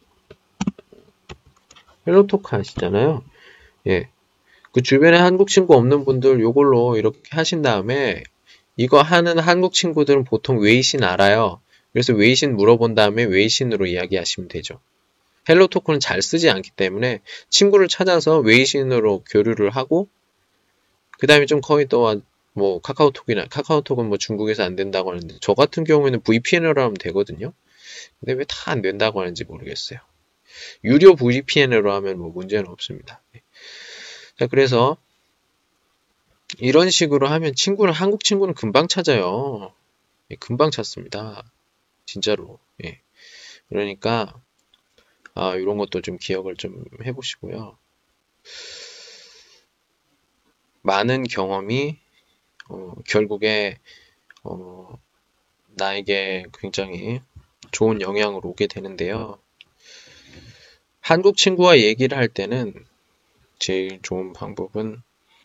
헬로토크 하시잖아요. 예. 그 주변에 한국 친구 없는 분들 요걸로 이렇게 하신 다음에 이거 하는 한국 친구들은 보통 웨이신 알아요. 그래서 웨이신 물어본 다음에 웨이신으로 이야기하시면 되죠. 헬로토크는 잘 쓰지 않기 때문에 친구를 찾아서 웨이신으로 교류를 하고 그 다음에 좀 거의 또 뭐 카카오톡은 뭐 중국에서 안 된다고 하는데 저 같은 경우에는 VPN으로 하면 되거든요. 근데 왜 다 안 된다고 하는지 모르겠어요. 유료 VPN으로 하면 뭐 문제는 없습니다. 자, 그래서 이런 식으로 하면 한국 친구는 금방 찾아요. 예, 금방 찾습니다. 진짜로. 예. 그러니까 이런 것도 좀 기억을 좀 해보시고요. 많은 경험이 결국에 나에게 굉장히 좋은 영향을 오게 되는데요. 한국 친구와 얘기를 할 때는 제일 좋은 방법은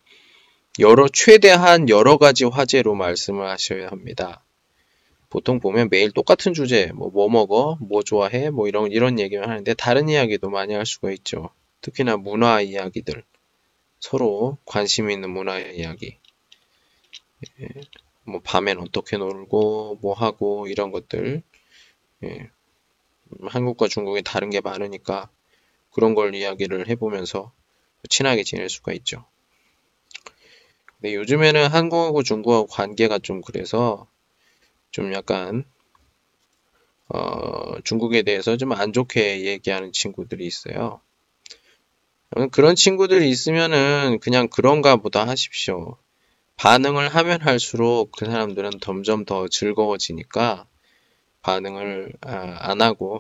최대한 여러 가지 화제로 말씀을 하셔야 합니다. 보통 보면 매일 똑같은 주제, 뭐 먹어, 뭐 좋아해, 뭐 이런 얘기만 하는데 다른 이야기도 많이 할 수가 있죠. 특히나 문화 이야기들, 서로 관심 있는 문화 이야기, 예, 뭐 밤엔 어떻게 놀고, 뭐 하고 이런 것들, 예, 한국과 중국이 다른 게 많으니까 그런 걸 이야기를 해보면서 친하게 지낼 수가 있죠. 근데 요즘에는 한국하고 중국하고 관계가 좀 그래서 좀 약간 중국에 대해서 좀 안 좋게 얘기하는 친구들이 있어요. 그런 친구들이 있으면은 그냥 그런가 보다 하십시오. 반응을 하면 할수록 그 사람들은 점점 더 즐거워지니까 반응을 안 하고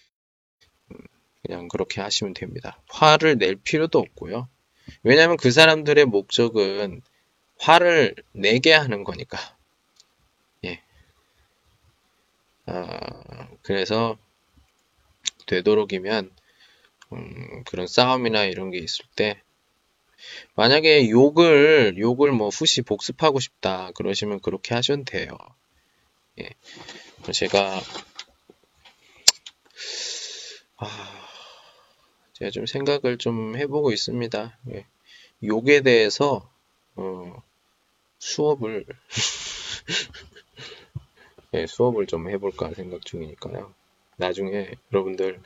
그냥 그렇게 하시면 됩니다. 화를 낼 필요도 없고요. 왜냐하면 그 사람들의 목적은 화를 내게 하는 거니까. 예. 그래서 되도록이면 그런 싸움이나 이런 게 있을 때 만약에 욕을 뭐 후시 복습하고 싶다 그러시면 그렇게 하셔도 돼요. 예. 제가 좀 생각을 좀 해보고 있습니다. 예. 욕에 대해서 수업을 예, 수업을 좀 해볼까 생각 중이니까요. 나중에 여러분들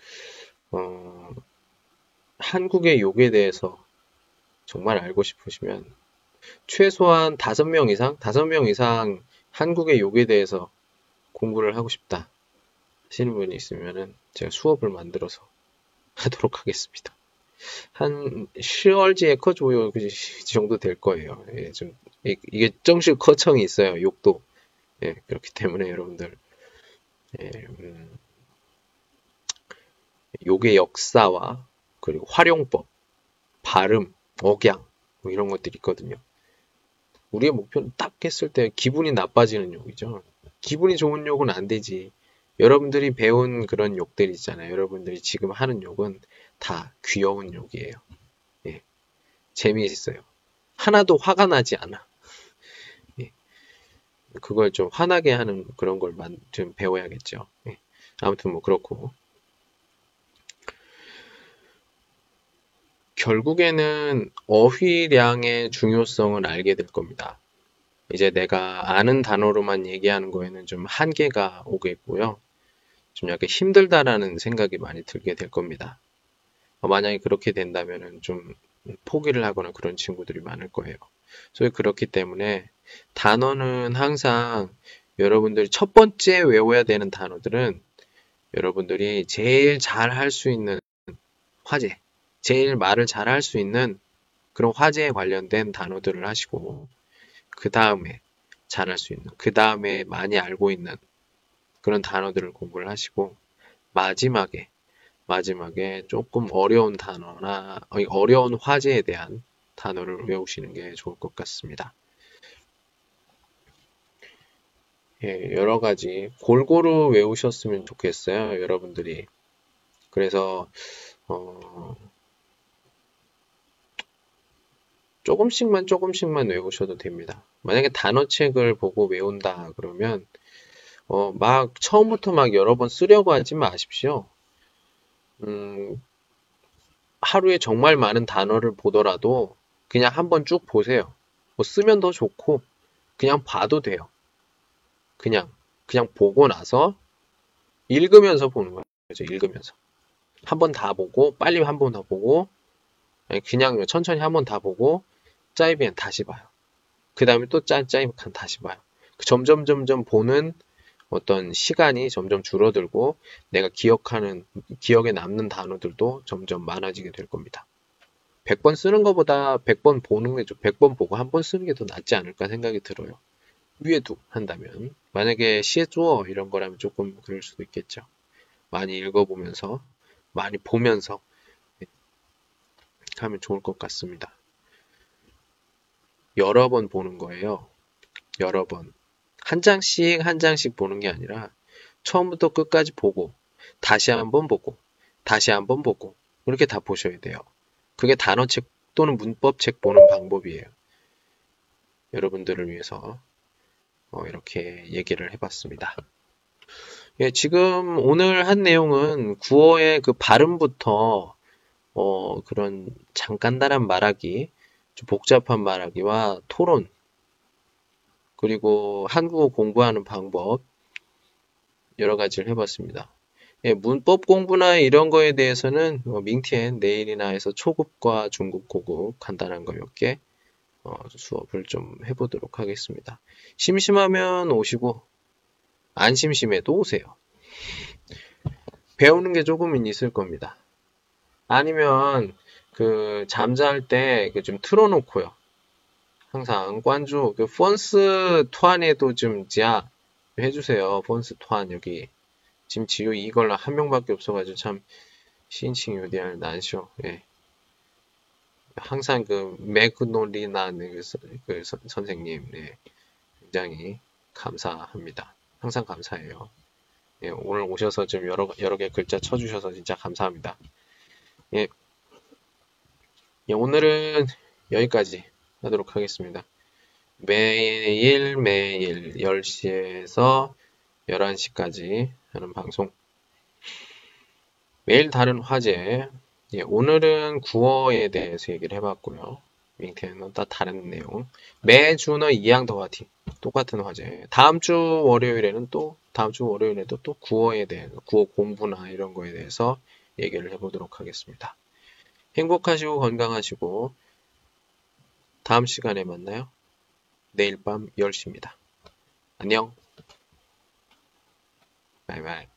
한국의 욕에 대해서 정말 알고 싶으시면 최소한 5명 이상 한국의 욕에 대해서 공부를 하고 싶다 하시는 분이 있으면은 제가 수업을 만들어서 하도록 하겠습니다. 한 10월지에 커줘요 그 정도 될 거예요. 예, 좀 이게 정식 커청이 있어요. 욕도. 예, 그렇기 때문에 여러분들 예, 욕의 역사와 그리고 활용법, 발음, 억양 뭐 이런 것들이 있거든요. 우리의 목표는 딱 했을 때 기분이 나빠지는 욕이죠. 기분이 좋은 욕은 안 되지. 여러분들이 배운 그런 욕들 있잖아요. 여러분들이 지금 하는 욕은 다 귀여운 욕이에요. 예, 재미있어요. 하나도 화가 나지 않아. 예, 그걸 좀 화나게 하는 그런 걸 좀 배워야겠죠. 예, 아무튼 뭐 그렇고 결국에는 어휘량의 중요성을 알게 될 겁니다. 이제 내가 아는 단어로만 얘기하는 거에는 좀 한계가 오겠고요. 좀 약간 힘들다라는 생각이 많이 들게 될 겁니다. 만약에 그렇게 된다면은 좀 포기를 하거나 그런 친구들이 많을 거예요.所以그렇기 때문에 단어는 항상 여러분들이 첫 번째 외워야 되는 단어들은 여러분들이 제일 잘 할 수 있는 화제, 제일 말을 잘 할 수 있는 그런 화제에 관련된 단어들을 하시고 그 다음에 잘할 수 있는, 그 다음에 많이 알고 있는 그런 단어들을 공부를 하시고 마지막에 조금 어려운 단어나 어려운 화제에 대한 단어를 외우시는 게 좋을 것 같습니다. 예, 여러 가지 골고루 외우셨으면 좋겠어요, 여러분들이. 그래서 조금씩만 외우셔도 됩니다. 만약에 단어책을 보고 외운다 그러면 막 처음부터 막 여러 번 쓰려고 하지 마십시오. 하루에 정말 많은 단어를 보더라도 그냥 한번 쭉 보세요. 뭐 쓰면 더 좋고 그냥 봐도 돼요. 그냥 보고 나서 읽으면서 보는 거죠. 읽으면서 한 번 다 보고 빨리 한 번 더 보고 그냥 천천히 한 번 다 보고 짜이비엔 다시 봐요. 그 다음에 또 짜이비엔 다시 봐요. 점점 보는 어떤 시간이 점점 줄어들고 내가 기억에 남는 단어들도 점점 많아지게 될 겁니다. 100번 쓰는 것보다 100번 보는 게 100번 보고 한 번 쓰는 게 더 낫지 않을까 생각이 들어요. 위에도 한다면 만약에 시주어 이런 거라면 조금 그럴 수도 있겠죠. 많이 읽어보면서 많이 보면서 하면 좋을 것 같습니다. 여러 번 보는 거예요. 여러 번. 한 장씩 보는 게 아니라 처음부터 끝까지 보고 다시 한번 보고 다시 한번 보고 이렇게 다 보셔야 돼요. 그게 단어책 또는 문법책 보는 방법이에요. 여러분들을 위해서 이렇게 얘기를 해봤습니다. 예, 지금 오늘 한 내용은 구어의 그 발음부터 그런 간단한 말하기, 좀 복잡한 말하기와 토론, 그리고 한국어 공부하는 방법 여러 가지를 해봤습니다. 예, 문법 공부나 이런 거에 대해서는 민티엔 내일이나 해서 초급과 중급, 고급 간단한 거 몇 개 수업을 좀 해보도록 하겠습니다. 심심하면 오시고 안 심심해도 오세요. 배우는 게 조금은 있을 겁니다. 아니면 잠잘 때 좀 틀어놓고요. 항상 관주 폰스 투안에도 좀 해주세요. 폰스 투안 여기 지금 지효 이걸로 한 명밖에 없어가지고 참 신칭 요디알 난쇼. 예. 항상 맥놀리나 선생님 굉장히 감사합니다. 항상 감사해요. 예, 오늘 오셔서 좀 여러 개 글자 쳐주셔서 진짜 감사합니다. 예, 오늘은 여기까지 하도록 하겠습니다. 매일 10시에서 11시까지 하는 방송. 매일 다른 화제. 예, 오늘은 구어에 대해서 얘기를 해봤고요.明天은 또 다른 내용. 매주는 이양더화티 똑같은 화제. 다음 주 월요일에도 또 구어에 대해서, 구어 공부나 이런 거에 대해서 얘기를 해보도록 하겠습니다. 행복하시고 건강하시고 다음 시간에 만나요. 내일 밤 10시입니다. 안녕. 바이바이.